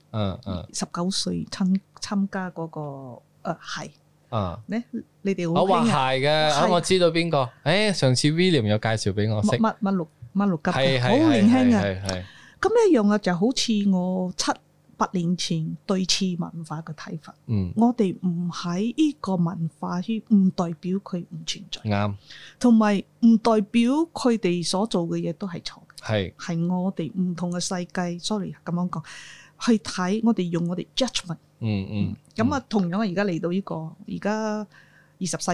，19歲參加嗰個係。你哋好興啊！係嘅，我知道邊個。上次 William 有介紹俾我識。乜六級，好年輕啊！咁一樣啊，就好似我7-8年前對次文化嘅睇法。我哋唔喺呢個文化圈，唔代表佢唔存在。啱。同埋唔代表佢哋所做嘅嘢都係錯嘅。係我哋唔同嘅世界。Sorry，咁樣講，去睇我哋用我哋 judgment。咁啊，同樣而家嚟到呢個而家21世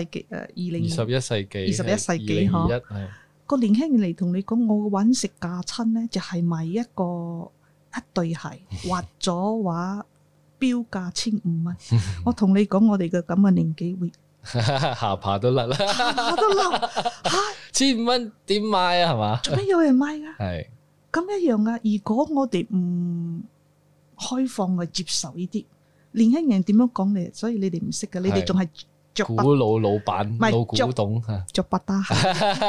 紀嗬，個年輕人嚟同你講，我揾食架親咧，就係買一對鞋，畫咗畫標價1500蚊。我同你講，我哋嘅咁嘅年紀會下巴都甩啦， 下都甩嚇， 1500蚊點買啊？係嘛？ 做咩有人買㗎？ 係咁一樣啊！如果我哋唔開放去接受呢啲年輕人點樣講你，所以你哋唔識嘅，你哋仲係着古老闆、 係老古董嚇， 着百搭鞋，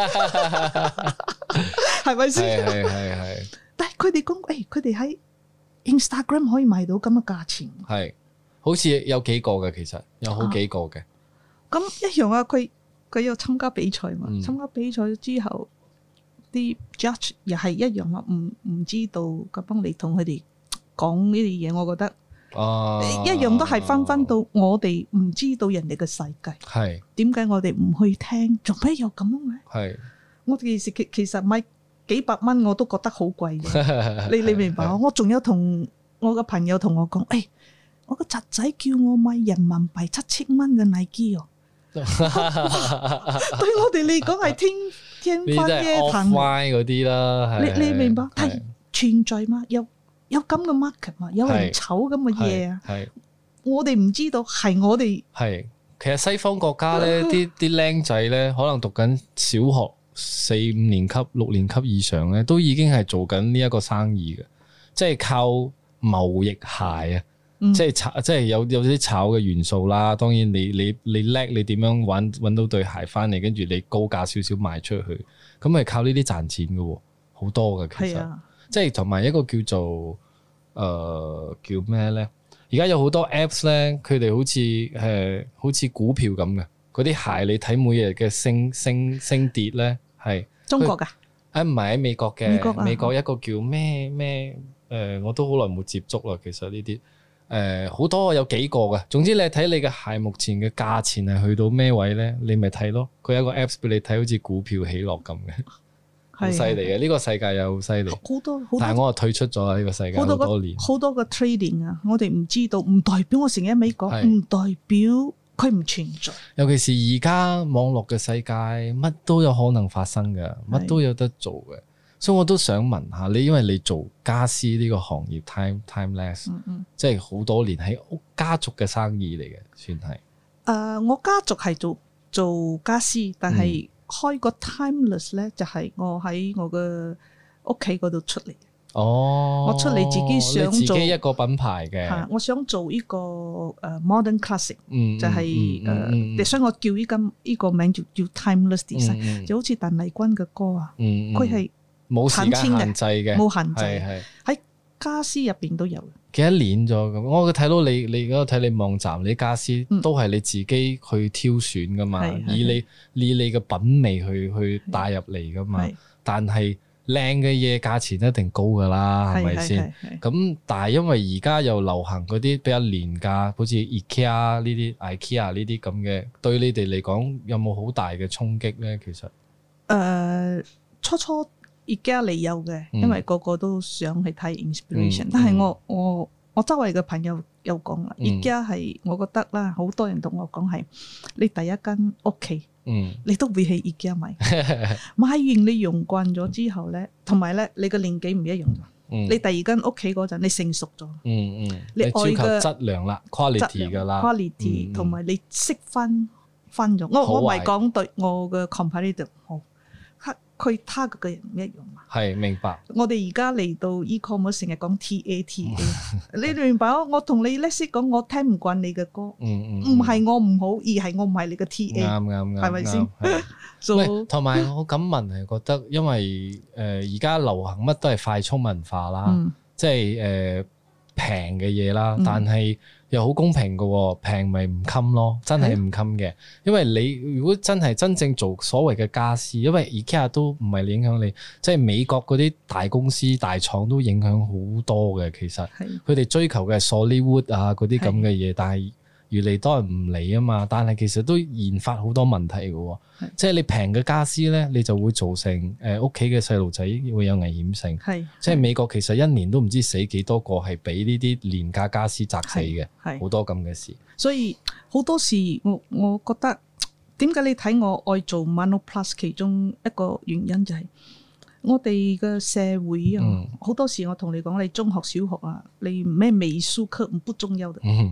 係咪先？ 係。 但係佢哋講，佢哋喺 Instagram 可以賣到咁嘅價錢， 係，好似有幾個嘅，其實有好幾個嘅。 咁一樣啊！佢有參加比賽嘛？參加比賽之後，啲 judge 又係一樣啊！唔知道咁幫你同佢哋講呢啲嘢，我覺得一樣都係翻到我哋唔知道人哋嘅世界。 係點解我哋唔去聽？做咩有咁嘅？ 係我其實買幾百蚊我都覺得好貴嘅。你明白？我仲有同我個朋友同我講，我個侄仔叫我買人民幣7000蚊嘅 Nike 哦。對我哋嚟講係天方夜譚嗰啲啦。 你明白？係存在嘛？有咁嘅 market 嘛？有人炒咁嘅嘢啊？我哋唔知道，係我哋係。其實西方國家咧，啲僆仔咧，可能讀緊小學4-5年級、6年級以上咧，都已經係做緊呢一個生意嘅，即係靠貿易鞋啊。即係有啲炒嘅元素啦。當然你叻，你點樣揾到對鞋翻嚟，跟住你高價少少賣出去，咁係靠呢啲賺錢嘅，好多嘅其實。即係同埋一個叫做叫咩咧？而家有好多 apps 咧，佢哋好似股票咁嘅，嗰啲鞋你睇每日嘅升跌咧，係中國㗎？ 唔係喺美國嘅，美國一個叫咩我都好耐冇接觸啦。其實呢啲。好多有幾個嘅，總之你睇你嘅鞋目前嘅價錢係去到咩位咧，你咪睇咯。佢有一個 apps 俾你睇，好似股票起落咁嘅，好犀利嘅。呢個世界又好犀利，好多。但係我退出咗啦，呢個世界好多年， 好多個 trading 啊，我哋唔知道，唔代表我成日喺美國，唔代表佢唔存在。 尤其是而家網絡嘅世界，乜都有可能發生嘅，乜都有得做嘅。所以我都想問下你，因為你做家私呢個行業 timeless，即係好多年喺家族嘅生意嚟嘅，算係。 我家族係做家私，但係開個 timeless 咧，就係我喺我嘅屋企嗰度出嚟。我出嚟自己想做自己一個品牌嘅。 我想做呢個modern classic，就係所以我叫呢個名叫 timeless design，就好似鄧麗君嘅歌啊，佢係。 冇時間限制嘅， 冇限制，喺家私入邊都有。 幾多年咗咁？我睇到你嗰個睇你網站，你家私都係你自己去挑選噶嘛，以你嘅品味去帶入嚟噶嘛。但係靚嘅嘢價錢一定高噶啦，係咪先？咁但係因為而家又流行嗰啲比較廉價，好似 IKEA 呢啲咁嘅，對你哋嚟講有冇好大嘅衝擊咧？其實初而家嚟有嘅，因為個個都想去睇 inspiration，但係我周圍嘅朋友有講啦，而家係我覺得啦，好多人同我講係你第一間屋企，你都會喺而家買，買完你用慣咗之後咧，同埋咧你個年紀唔一樣，你第二間屋企嗰陣你成熟咗， 你追求質量啦 ，quality 噶啦 ，quality 同埋你識分咗，我唔係講對我嘅 competitor 好。佢他嘅人唔一樣嘛， 係明白。 我哋而家嚟到 e-commerce 成日講 TA， 你明白？我同你叻識講，我聽唔慣你嘅歌，唔係我唔好，而係我唔係你嘅 TA， 啱， 係咪先？ 同埋我咁問係覺得，因為而家流行乜都係快速文化啦，即係平嘅嘢啦，但係又好公平嘅，平咪唔襟咯，真係唔襟嘅。因為你如果真正做所謂嘅家私，因為 IKEA 都唔係影響你，即係美國嗰啲大公司大廠都影響好多嘅。其實佢哋追求嘅係 solid wood 啊嗰啲咁嘅嘢，但係越嚟多人唔理啊嘛。但係其實都研發好多問題嘅，即係你平嘅家私咧，你就會造成屋企嘅細路仔會有危險性。即係美國其實一年都唔知死幾多個係俾呢啲廉價家私砸死嘅，好多咁嘅事。所以好多時我覺得點解你睇我愛做 Monoplus， 其中一個原因就係我哋嘅社會啊，好多時我同你講，你中學小學啊，你咩美術課唔重要的。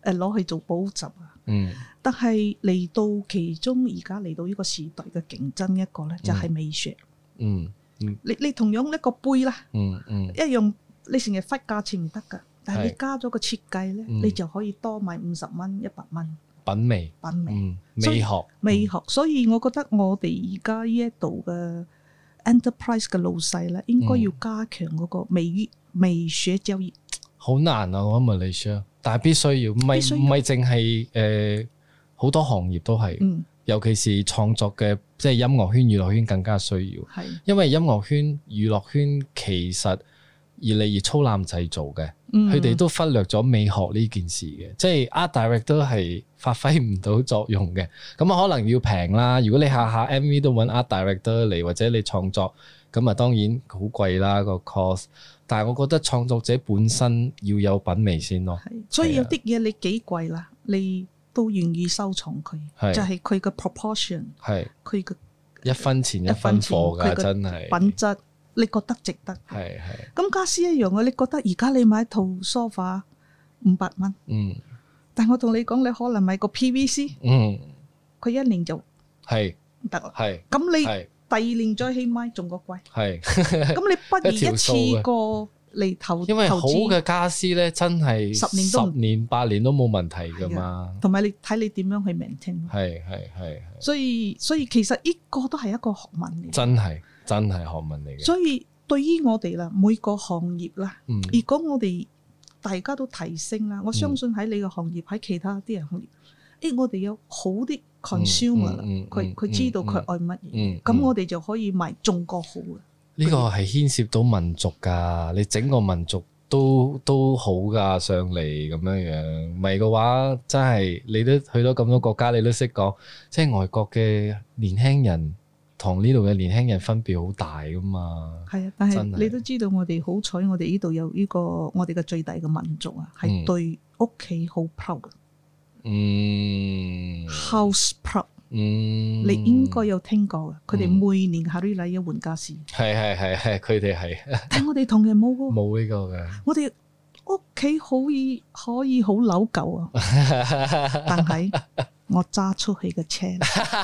攞去做補習啊。 嗯但係嚟到其中而家嚟到呢個時代嘅競爭一個咧，就係美學。 嗯你同樣一個杯啦， 嗯一樣你成日忽價錢唔得㗎，但係你加咗個設計咧，你就可以多賣50蚊、100蚊。 品味， 品味， 美學， 所以我覺得我哋而家呢一度嘅 enterprise 嘅老細咧，應該要加強嗰個美學教育。 好難啊！我諗馬來西亞，但係必須要，唔係淨係好多行業都係，尤其是創作嘅，即係音樂圈、娛樂圈更加需要。係，因為音樂圈、娛樂圈其實越嚟越粗濫製造嘅，佢哋都忽略咗美學呢件事嘅，即係 art direct 都係發揮唔到作用嘅。咁可能要平啦，如果你下下 MV 都揾 art director 嚟，或者你創作，咁啊當然好貴啦個 cost。但係我覺得創作者本身要有品味先咯。 所以有啲嘢你幾貴啦，你都願意收藏佢，就係佢嘅 proportion， 係佢嘅一分錢一分貨㗎，真係品質。你覺得值得？係。咁家私一樣嘅，你覺得而家你買一套 sofa 500蚊，但我同你講，你可能買個 PVC，佢1年就係得啦。係。咁你第2年再起買仲個貴。係。咁你不如一次過嚟投資。因為好嘅家私咧，真係10年8年都冇問題㗎嘛。同埋你睇你點樣去 maintain。係。所以其實呢個都係一個學問嚟。真係學問嚟嘅。所以對於我哋啦，每個行業啦，如果我哋大家都提升啦，我相信喺你個行業，喺其他啲人行業，我哋有好啲 consumer 啦，佢知道佢愛乜嘢，咁我哋就可以賣仲個好嘅。呢個係牽涉到民族㗎，你整個民族都好㗎上嚟咁樣，唔係嘅話真係你都去到咁多國家，你都識講，即係外國嘅年輕人同呢度嘅年輕人分別好大噶嘛。係啊，但係你都知道我哋好彩，我哋呢度有呢個我哋嘅最大嘅民族啊，係對屋企好 proud 嘅。House proud。你應該有聽過嘅，佢哋每年夏日禮一換家私。係，佢哋係。但係我哋同人冇喎。冇呢個嘅。我哋屋企可以好老舊啊，但係我揸出去嘅車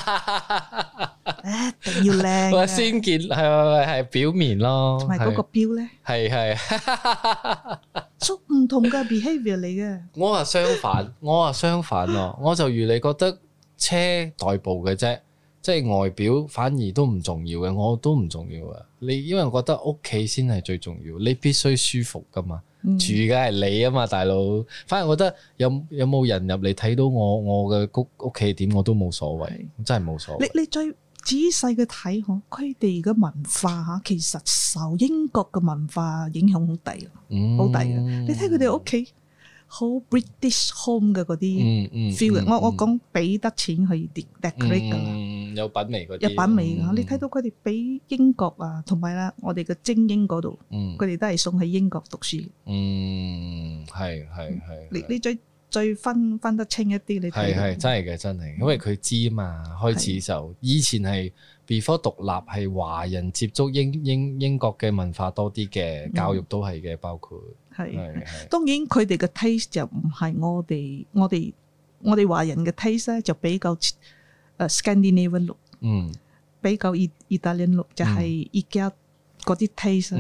一定要靚。我先見係表面咯，同埋嗰個錶咧，係出唔同嘅 behavior 嚟嘅。我話相反咯，我就如你覺得車代步嘅啫，即係外表反而都唔重要嘅，我都唔重要嘅。你因為我覺得屋企先係最重要，你必須舒服噶嘛。住嘅係你啊嘛，大佬。反而我覺得有冇人入嚟睇到我嘅屋企點，我都冇所謂，真係冇所謂。你最仔細嘅睇嗬，佢哋嘅文化嚇，其實受英國嘅文化影響好大，好大嘅。你睇佢哋屋企好 British home 嘅嗰啲 feel 嘅。我講俾得錢去 decorate 㗎啦。有品味嗰啲，有品味㗎。你睇到佢哋俾英國啊，同埋啦，我哋嘅精英嗰度，佢哋都係送去英國讀書。係。你最分得清一啲，你睇係真係嘅，真係，因為佢知啊嘛。開始就以前係 before 獨立係華人接觸英國嘅文化多啲嘅，教育都係嘅，包括係。當然佢哋嘅 taste 就唔係我哋華人嘅 taste 咧，就比較Scandinavian look， 比較Italian look， 就係而家嗰啲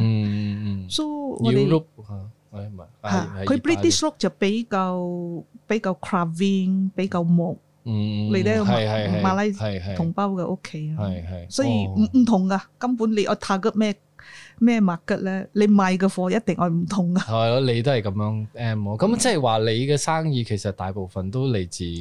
taste。所以我哋佢 British look 就比較 carving， 比較木。你哋馬來同胞嘅屋企啊，所以唔同噶，根本你我 target 咩 market 咧，你賣嘅貨一定係唔同噶。係咯，你都係咁樣咁即係話你嘅生意其實大部分都嚟自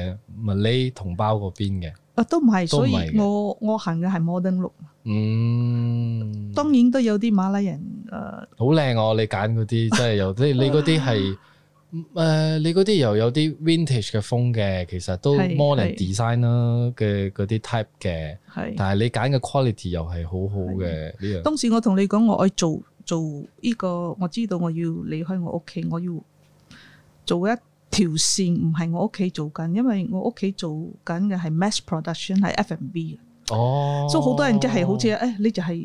Malay同胞嗰邊嘅。都唔係，所以我行嘅係 modern look。當然都有啲馬來人好靚哦！你揀嗰啲即係有啲，你嗰啲係你嗰啲又有啲 vintage 嘅風嘅，其實都 modern design 啦嘅嗰啲 type 嘅。但係你揀嘅 quality 又係好好嘅呢樣。當時我同你講，我愛做呢個，我知道我要離開我屋企，我要做一條線，唔係我屋企做緊，因為我屋企做緊嘅係 mass production， 係 F&B 嘅。所以好多人即係好似你就係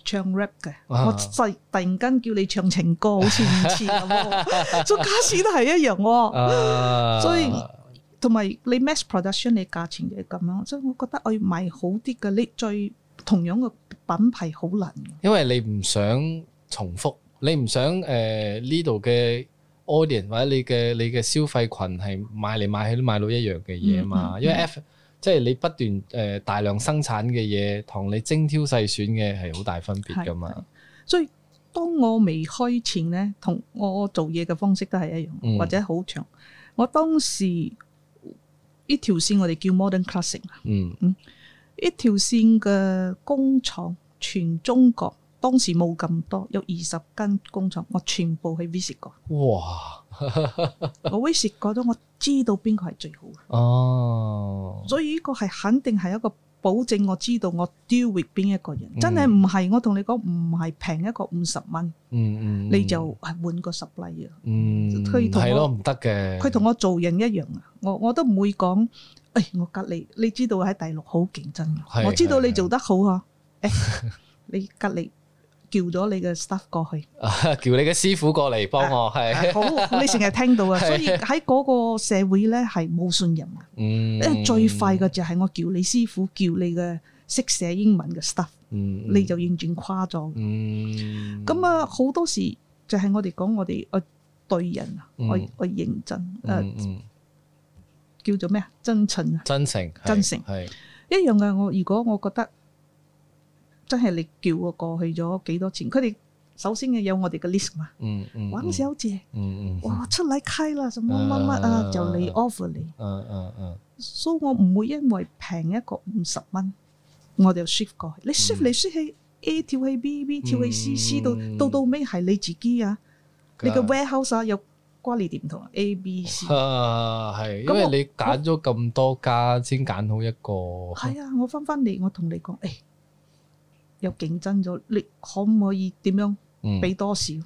唱 rap 嘅，我突然間叫你唱情歌，好似唔似咁喎。做家私都係一樣喎，所以同埋你 mass production 你價錢就係咁樣，所以我覺得我要賣好啲嘅，你最同樣嘅品牌好難。 因為你唔想重複，你唔想呢度嘅 audience 或者你嘅消費群係買嚟買去都買到一樣嘅嘢嘛。因為即係你不斷大量生產嘅嘢，同你精挑細選嘅係好大分別噶嘛。 所以當我未開前咧，同我做嘢嘅方式都係一樣，或者好長。我當時呢條線我哋叫 Modern Classic 呢條線嘅工廠全中國當時冇咁多，有20間工廠，我全部去 visit 過。 哇！ 我 visit 過咗，我知道邊個係最好嘅。哦，所以呢個係肯定係一個保證，我知道我 deal with 邊一個人。真係唔係我同你講，唔係平一個50蚊，你就係換個supplier。係咯，唔得嘅。 佢同我做人一樣啊，我都唔會講。我隔離，你知道喺大陸好競爭，我知道你做得好啊。你隔離叫咗你嘅 staff 過去， 叫你嘅師傅過嚟幫我，係好，你成日聽到啊。所以喺嗰個社會咧係冇信任嘅。因為最快嘅就係我叫你師傅，叫你嘅識寫英文嘅 staff，你就完全跨咗。咁啊，好多時就係我哋講我哋對人啊，我認真叫做咩啊？真誠啊！ 真誠係一樣嘅。如果我覺得真係你叫我過去咗幾多錢，佢哋首先有我哋嘅 list 嘛。王小姐，哇出嚟開啦，什麼乜乜啊，就嚟 offer 你。所以我唔會因為平一個50蚊，我就 shift 過去。你 shift 嚟 shift 去 A 跳去 B 跳去 C 到尾係你自己啊，你嘅 warehouse 有。quality 唔同 A、B、C 係，因為你揀咗咁多家先揀好一個。 係啊，我翻嚟，我同你講，有競爭咗，你可唔可以點樣俾多少？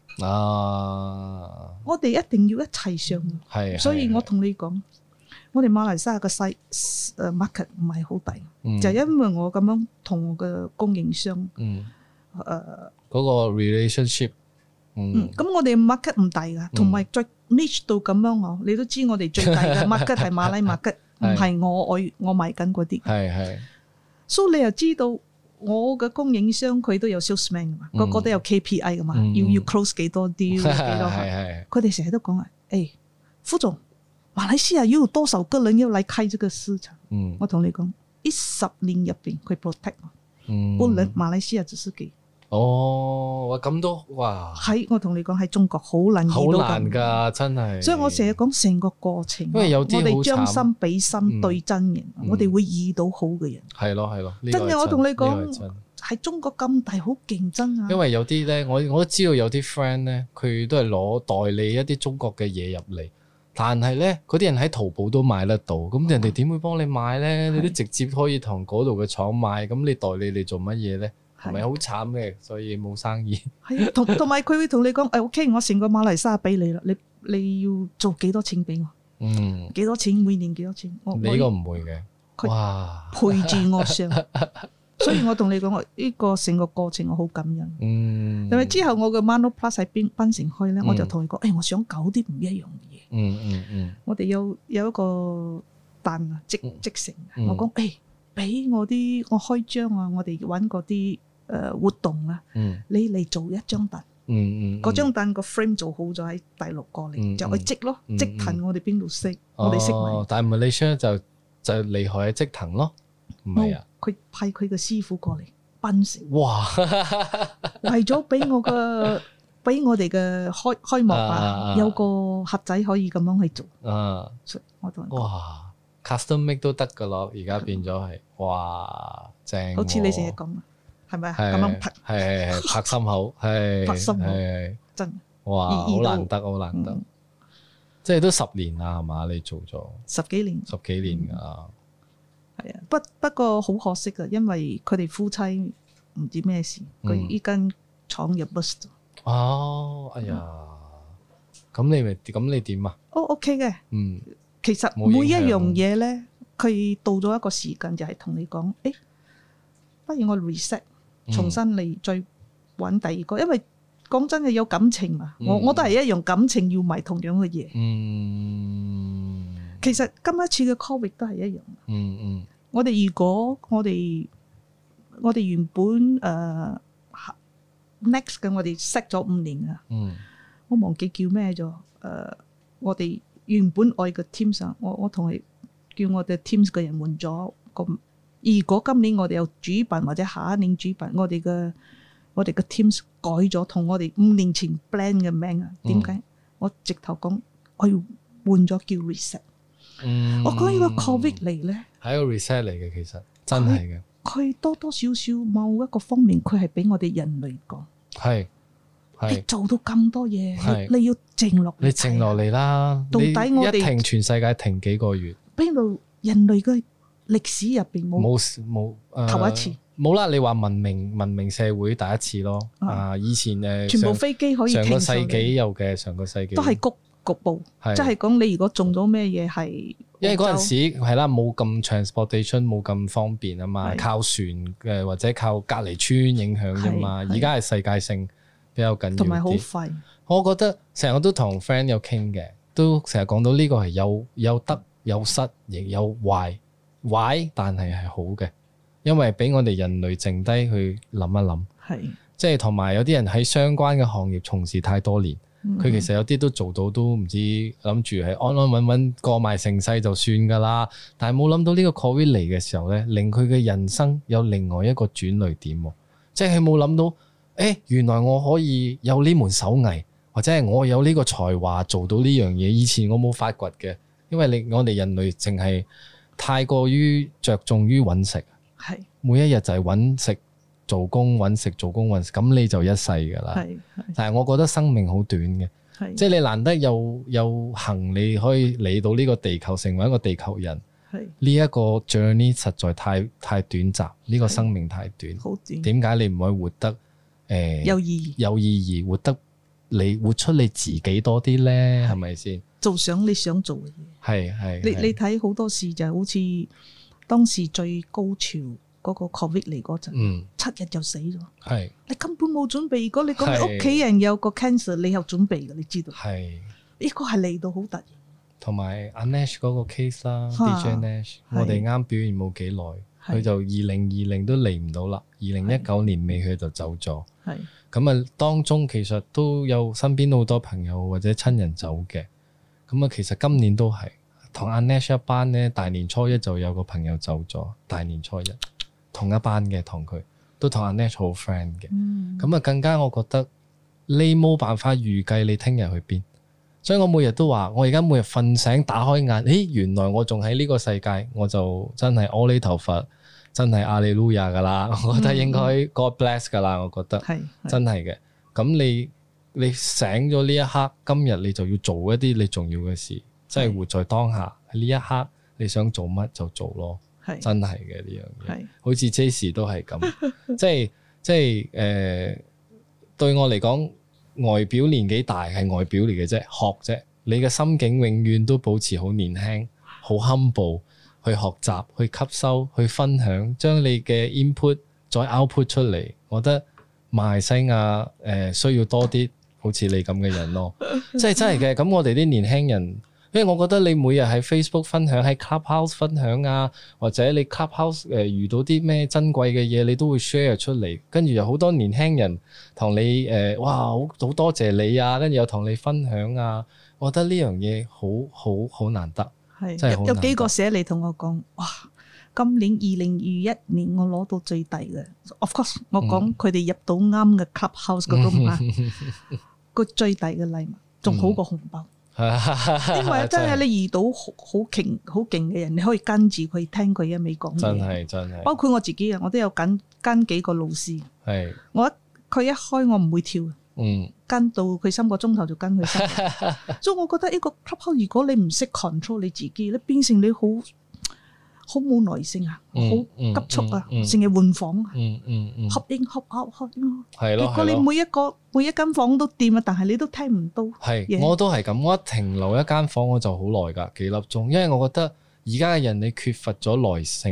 我哋一定要一齊上。係，所以我同你講，我哋馬來西亞嘅細market 唔係好大，就因為我咁樣同我嘅供應商嗰個 relationship。 咁我哋 market 唔大噶，同埋再 niche 到咁樣你都知我哋最大嘅 market 係馬拉 market， 唔係我賣緊嗰啲。係，所以你又知道我嘅供應商佢都有 salesman 噶嘛，個個都有 KPI 噶嘛，要 close 幾多 deal 幾多。佢哋成日都講副總，馬來西亞要多少個人要嚟開這個市場？我同你講，呢10年入邊佢 protect 我，不能馬來西亞只是給。 咁都哇！ 我同你講喺中國好難， 好難㗎，真係。 所以我成日講成個過程， 因為有啲我哋將心比心對真人，我哋會遇到好嘅人。 係咯， 真嘅，我同你講喺中國咁大好競爭啊！ 因為有啲咧，我都知道有啲 friend 咧，佢都係攞代理一啲中國嘅嘢入嚟，但係咧嗰啲人喺淘寶都買得到，咁人哋點會幫你買咧？你都直接可以同嗰度嘅廠買，咁你代理你做乜嘢咧？係咪好慘嘅？所以冇生意。係同埋佢會同你講，OK， 我成個馬來西亞俾你啦，你要做幾多錢俾我？幾多錢？每年幾多錢？ 你呢個唔會嘅。哇！ 陪住我上，所以我同你講，我呢個成個過程我好感恩。因為之後我嘅 Mano Plus 喺檳城開咧，我就同佢講，我想搞啲唔一樣嘅嘢。我哋有一個單啊，即成。我講俾我啲我開張啊，我哋揾嗰啲。活動啊，你嚟做一張凳，嗰張凳個 frame 做好咗喺大陸過嚟，就去織咯，織藤我哋邊度識，我哋識咪。 但係 Malaysia 就厲害喺織藤咯，唔係啊？ 佢派佢嘅師傅過嚟檳城， 哇！ 為咗俾我哋嘅開幕啊，有個盒仔可以咁樣去做。我同哇 ，custom make 都得噶咯，而家變咗係哇正， 好似你成日講。係咪咁樣拍？ 係拍心口，係拍心口， 真哇！好難得，即係都10年啦，係嘛？你做咗 10幾年㗎。 係啊，不過好可惜㗎，因為佢哋夫妻唔知咩事，佢依間廠入 bust 咗。 哎呀，咁你點啊 ？OK 嘅。其實每一樣嘢咧，佢到咗一個時間就係同你講，不如我 reset。重新嚟再揾第二個，因為講真嘅有感情嘛，我都係一樣感情要埋同樣嘅嘢。其實今一次嘅 Covid 都係一樣。我哋如果我哋原本next 嘅我哋 set 咗5年啊，我忘記叫咩咗。我哋原本愛嘅 teams 啊，我同佢叫我哋 teams 嘅人換咗個。如果今年我哋有主辦或者下一年主辦，我哋嘅 teams 改咗，同我哋5年前 plan 嘅名啊，點解？我直頭講我要換咗叫 reset。我講呢個 Covid 嚟咧， 係一個 reset 嚟嘅，其實真係嘅。 佢多多少少某一個方面，佢係俾我哋人類講。 係你做到咁多嘢，你要靜落嚟。 你靜落嚟啦！ 到底我哋一停，全世界停幾個月？ 邊度人類嘅歷史入邊冇頭一次？ 冇啦！你話文明社會第一次咯。以前全部飛機可以停上個世紀有嘅，上個世紀都係局部，即係講你如果中咗咩嘢係。 因為嗰陣時係啦，冇咁 transportation 冇咁方便啊嘛，靠船或者靠隔離村影響啫嘛。而家係世界性比較緊要啲， 同埋好快。 我覺得成日都同 friend 有傾嘅，都成日講到呢個係有得有失，亦有壞，但係好嘅，因為俾我哋人類靜低去諗一諗。係，即係同埋有啲人喺相關嘅行業從事太多年。佢其實有啲都做到，都唔知諗住係安安穩穩過埋成世就算噶啦，但係冇諗到呢個 Covid 嚟嘅時候咧，令佢嘅人生有另外一個轉捩點，即係佢冇諗到，原來我可以有呢門手藝，或者係我有呢個才華做到呢樣嘢，以前我冇發掘嘅，因為我哋人類淨係太過於着重於揾食，係每一日就係揾食。做工揾食，咁你就一世噶啦。但係我覺得生命好短嘅，即係你難得有幸你可以嚟到呢個地球，成為一個地球人。呢一個 journey 實在太短暫，呢個生命太短。好短。點解你唔可以活得有意義，活出你自己多啲咧？係咪先？做想你想做嘅嘢。係。你睇好多事就好似當時最高潮。嗰個 Covid 嚟嗰陣，7日就死咗。係你根本冇準備。如果你講你屋企人有個 cancer，你有準備嘅，你知道。係呢個係嚟到好突然。同埋阿 Nash 嗰個 case 啦，DJ Nash，我哋啱表現冇幾耐，佢就2020都嚟唔到啦。2019年尾佢就走咗。係咁啊，當中其實都有身邊好多朋友或者親人走嘅。咁啊，其實今年都係同阿 Nash 一班咧，大年初一就有個朋友走咗，大年初一。同一班嘅，同佢都同阿 Nash 好 friend 嘅，咁啊更加我覺得你冇辦法預計你聽日去邊，所以我每日都話，我而家每日瞓醒打開眼，原來我仲喺呢個世界，我就真係阿彌陀佛，真係阿利路亞噶啦，我覺得應該 God bless 噶啦，我覺得真係嘅。咁你醒咗呢一刻，今日你就要做一啲你重要嘅事，即係活在當下，喺呢一刻你想做乜就做咯。真係嘅呢樣嘢，好似 J 都係咁，即係對我嚟講，外表年紀大係外表嚟嘅啫，學啫。你嘅心境永遠都保持好年輕，好 humble 去學習、去吸收、去分享，將你嘅 input 再 output 出嚟。我覺得馬來西亞需要多啲好似你咁嘅人咯，即係真係嘅。咁我哋啲年輕人。因為我覺得你每日喺 Facebook 分享，喺 Clubhouse 分享啊，或者你 Clubhouse 遇到啲咩珍貴嘅嘢，你都會 share 出嚟，跟住有好多年輕人同你哇好多謝你啊，跟住又同你分享啊，我覺得呢樣嘢好難得，係真係好難得。有幾個寫嚟同我講，哇！今年2021年我攞到最低嘅，of course 我講佢哋入到啱嘅 Clubhouse 嗰度嘛，個最低嘅禮物仲好過紅包。因為真係你遇到好勁嘅人，你可以跟住佢聽佢一味講嘢。真係。包括我自己啊，我都有跟幾個老師。係。佢一開我唔會跳。跟到佢3個鐘頭就跟佢3。所以我覺得呢個 clubhouse 如果你唔識 control 你自己，你變成你好冇耐性啊，好急促啊，成日換房啊，合音合out。係咯。結果你每一間房都掂啊，但係你都聽唔到。係，我都係咁。我一停留一間房我就好耐㗎，幾粒鐘，因為我覺得而家嘅人你缺乏咗耐性啊。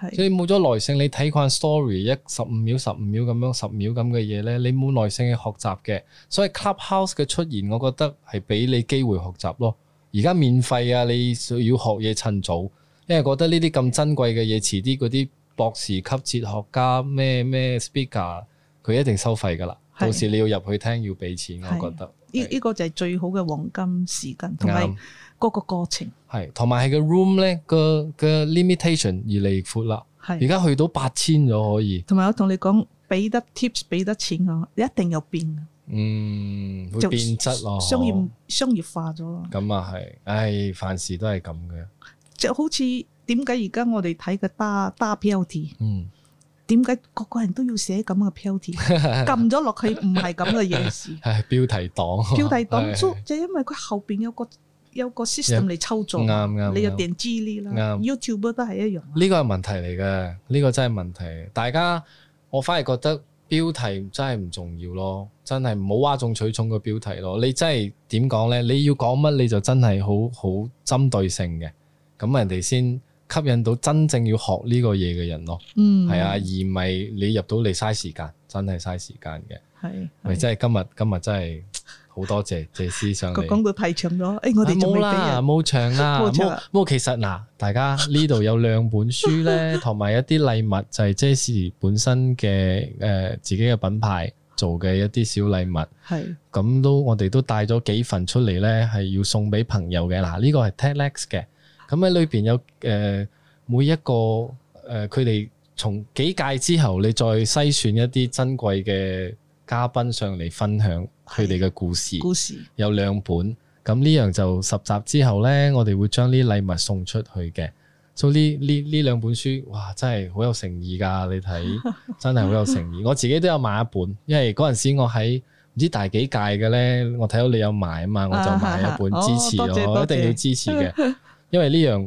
所以冇咗耐性，你睇慣 story 15秒咁樣10秒咁嘅嘢咧，你冇耐性去學習嘅。所以 Clubhouse 嘅出現，我覺得係俾你機會學習咯。而家免費啊，你要學嘢趁早，因為覺得呢啲咁珍貴嘅嘢，遲啲嗰啲博士級哲學家咩 speaker， 佢一定收費噶啦。到時你要入去聽要俾錢，我覺得呢個就係最好嘅黃金時間，同埋嗰個過程係，同埋係個 room 咧個 limitation 越嚟越闊啦。而家去到8000咗可以。同埋我同你講，俾得 tips 俾得錢啊，一定有變。 會變質咯， 商業化咗咯。 咁啊係，凡事都係咁嘅。 就好似點解而家我哋睇嘅大標題，點解個個人都要寫咁嘅標題？撳咗落去唔係咁嘅嘢事。係標題黨， 就因為佢後邊有個 system 嚟操作。啱，你有訂資料啦。YouTube 都係一樣。呢個係問題嚟嘅，呢個真係問題。大家我反而覺得標題真係唔重要咯，真係唔好嘩眾取寵個標題咯。你真係點講咧？你要講乜你就真係好針對性嘅，咁人哋先吸引到真正要學呢個嘢嘅人咯。係啊，而唔係你入到嚟嘥時間，真係嘥時間嘅。係咪真係今日真係好多謝謝師上嚟。講到太長咗，我哋冇啦，冇長啦，冇。其實嗱，大家呢度有2本書咧，同埋一啲禮物，就係 Jessie 本身嘅自己嘅品牌做嘅一啲小禮物。係咁我哋都帶咗幾份出嚟咧，係要送俾朋友嘅。嗱，呢個係 TEDx 嘅，咁喺裏邊有每一個佢哋從幾屆之後，你再篩選一啲珍貴嘅嘉賓上嚟分享佢哋嘅故事，有2本，咁呢樣就10集之後呢，我哋會將呢禮物送出去嘅。所以呢2本書，哇，真係好有誠意噶！你睇，真係好有誠意。我自己都有買一本，因為嗰陣時我喺唔知大幾屆嘅呢，我睇到你有買啊嘛，我就買一本支持我，一定要支持嘅。因為呢樣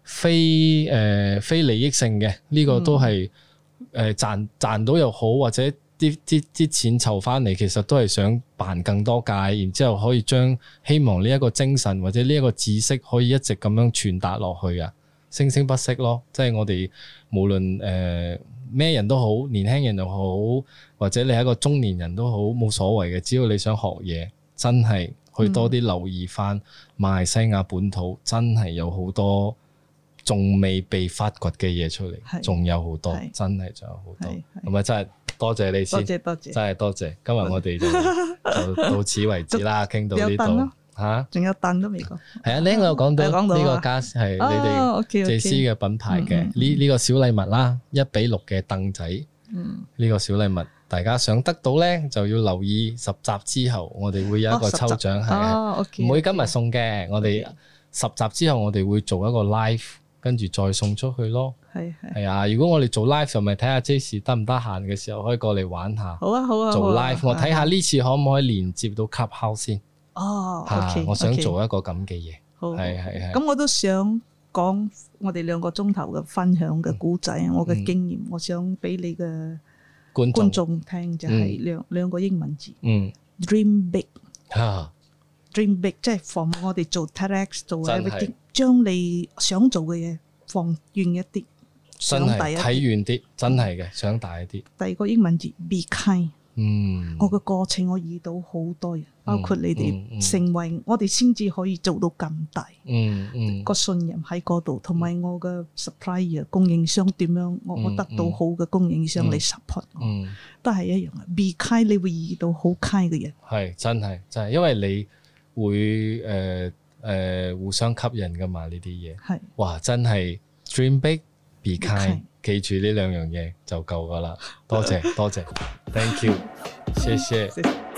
非利益性嘅，呢個都係賺到又好，或者啲錢籌翻嚟，其實都係想辦更多屆，然之後可以將希望呢一個精神或者呢一個知識可以一直咁樣傳達落去啊，生生不息咯。即係我哋無論咩人都好，年輕人又好，或者你係一個中年人都好，冇所謂嘅，只要你想學嘢，真係去多啲留意翻馬來西亞本土，真係有好多仲未被發掘嘅嘢出嚟，仲有好多，真係仲有好多。咁啊，真係多謝你先，多謝，真係多謝。今日我哋就到此為止啦，傾到呢度嚇，仲有凳都未講。係啊，呢個有講到呢個家係你哋謝師嘅品牌嘅呢個小禮物啦，1:6嘅凳仔。呢個小禮物大家想得到咧，就要留意10集之後，我哋會有一個抽獎，係唔會今日送嘅。我哋10集之後，我哋會做一個 live。跟住再送出去咯，係啊！如果我哋做 live 就咪睇下 Jessie 得唔得閒嘅時候可以過嚟玩下。好啊，做 live 我睇下呢次可唔可以連接到 Clubhouse 先。OK，我想做一個咁嘅嘢。係。咁我都想講我哋2個鐘頭嘅分享嘅故仔，我嘅經驗，我想俾你嘅觀眾聽，就係兩個英文字。Dream big。Dream big 即係放我哋做 TEDx 做 everything，將你想做嘅嘢放遠一啲，想大一啲，睇遠啲，真係嘅，想大一啲。第二個英文字 be kind。我嘅過程我遇到好多人，包括你哋成為我哋先至可以做到咁大。個信任喺嗰度，同埋我嘅 supplier 供應商點樣，我得到好嘅供應商嚟 support 我，都係一樣嘅。be kind 你會遇到好 kind 嘅人，係真係，因為你會互相吸引噶嘛，呢啲嘢係哇，真係 dream big be kind， 記住呢2樣嘢就夠噶啦。多謝，thank you，謝謝。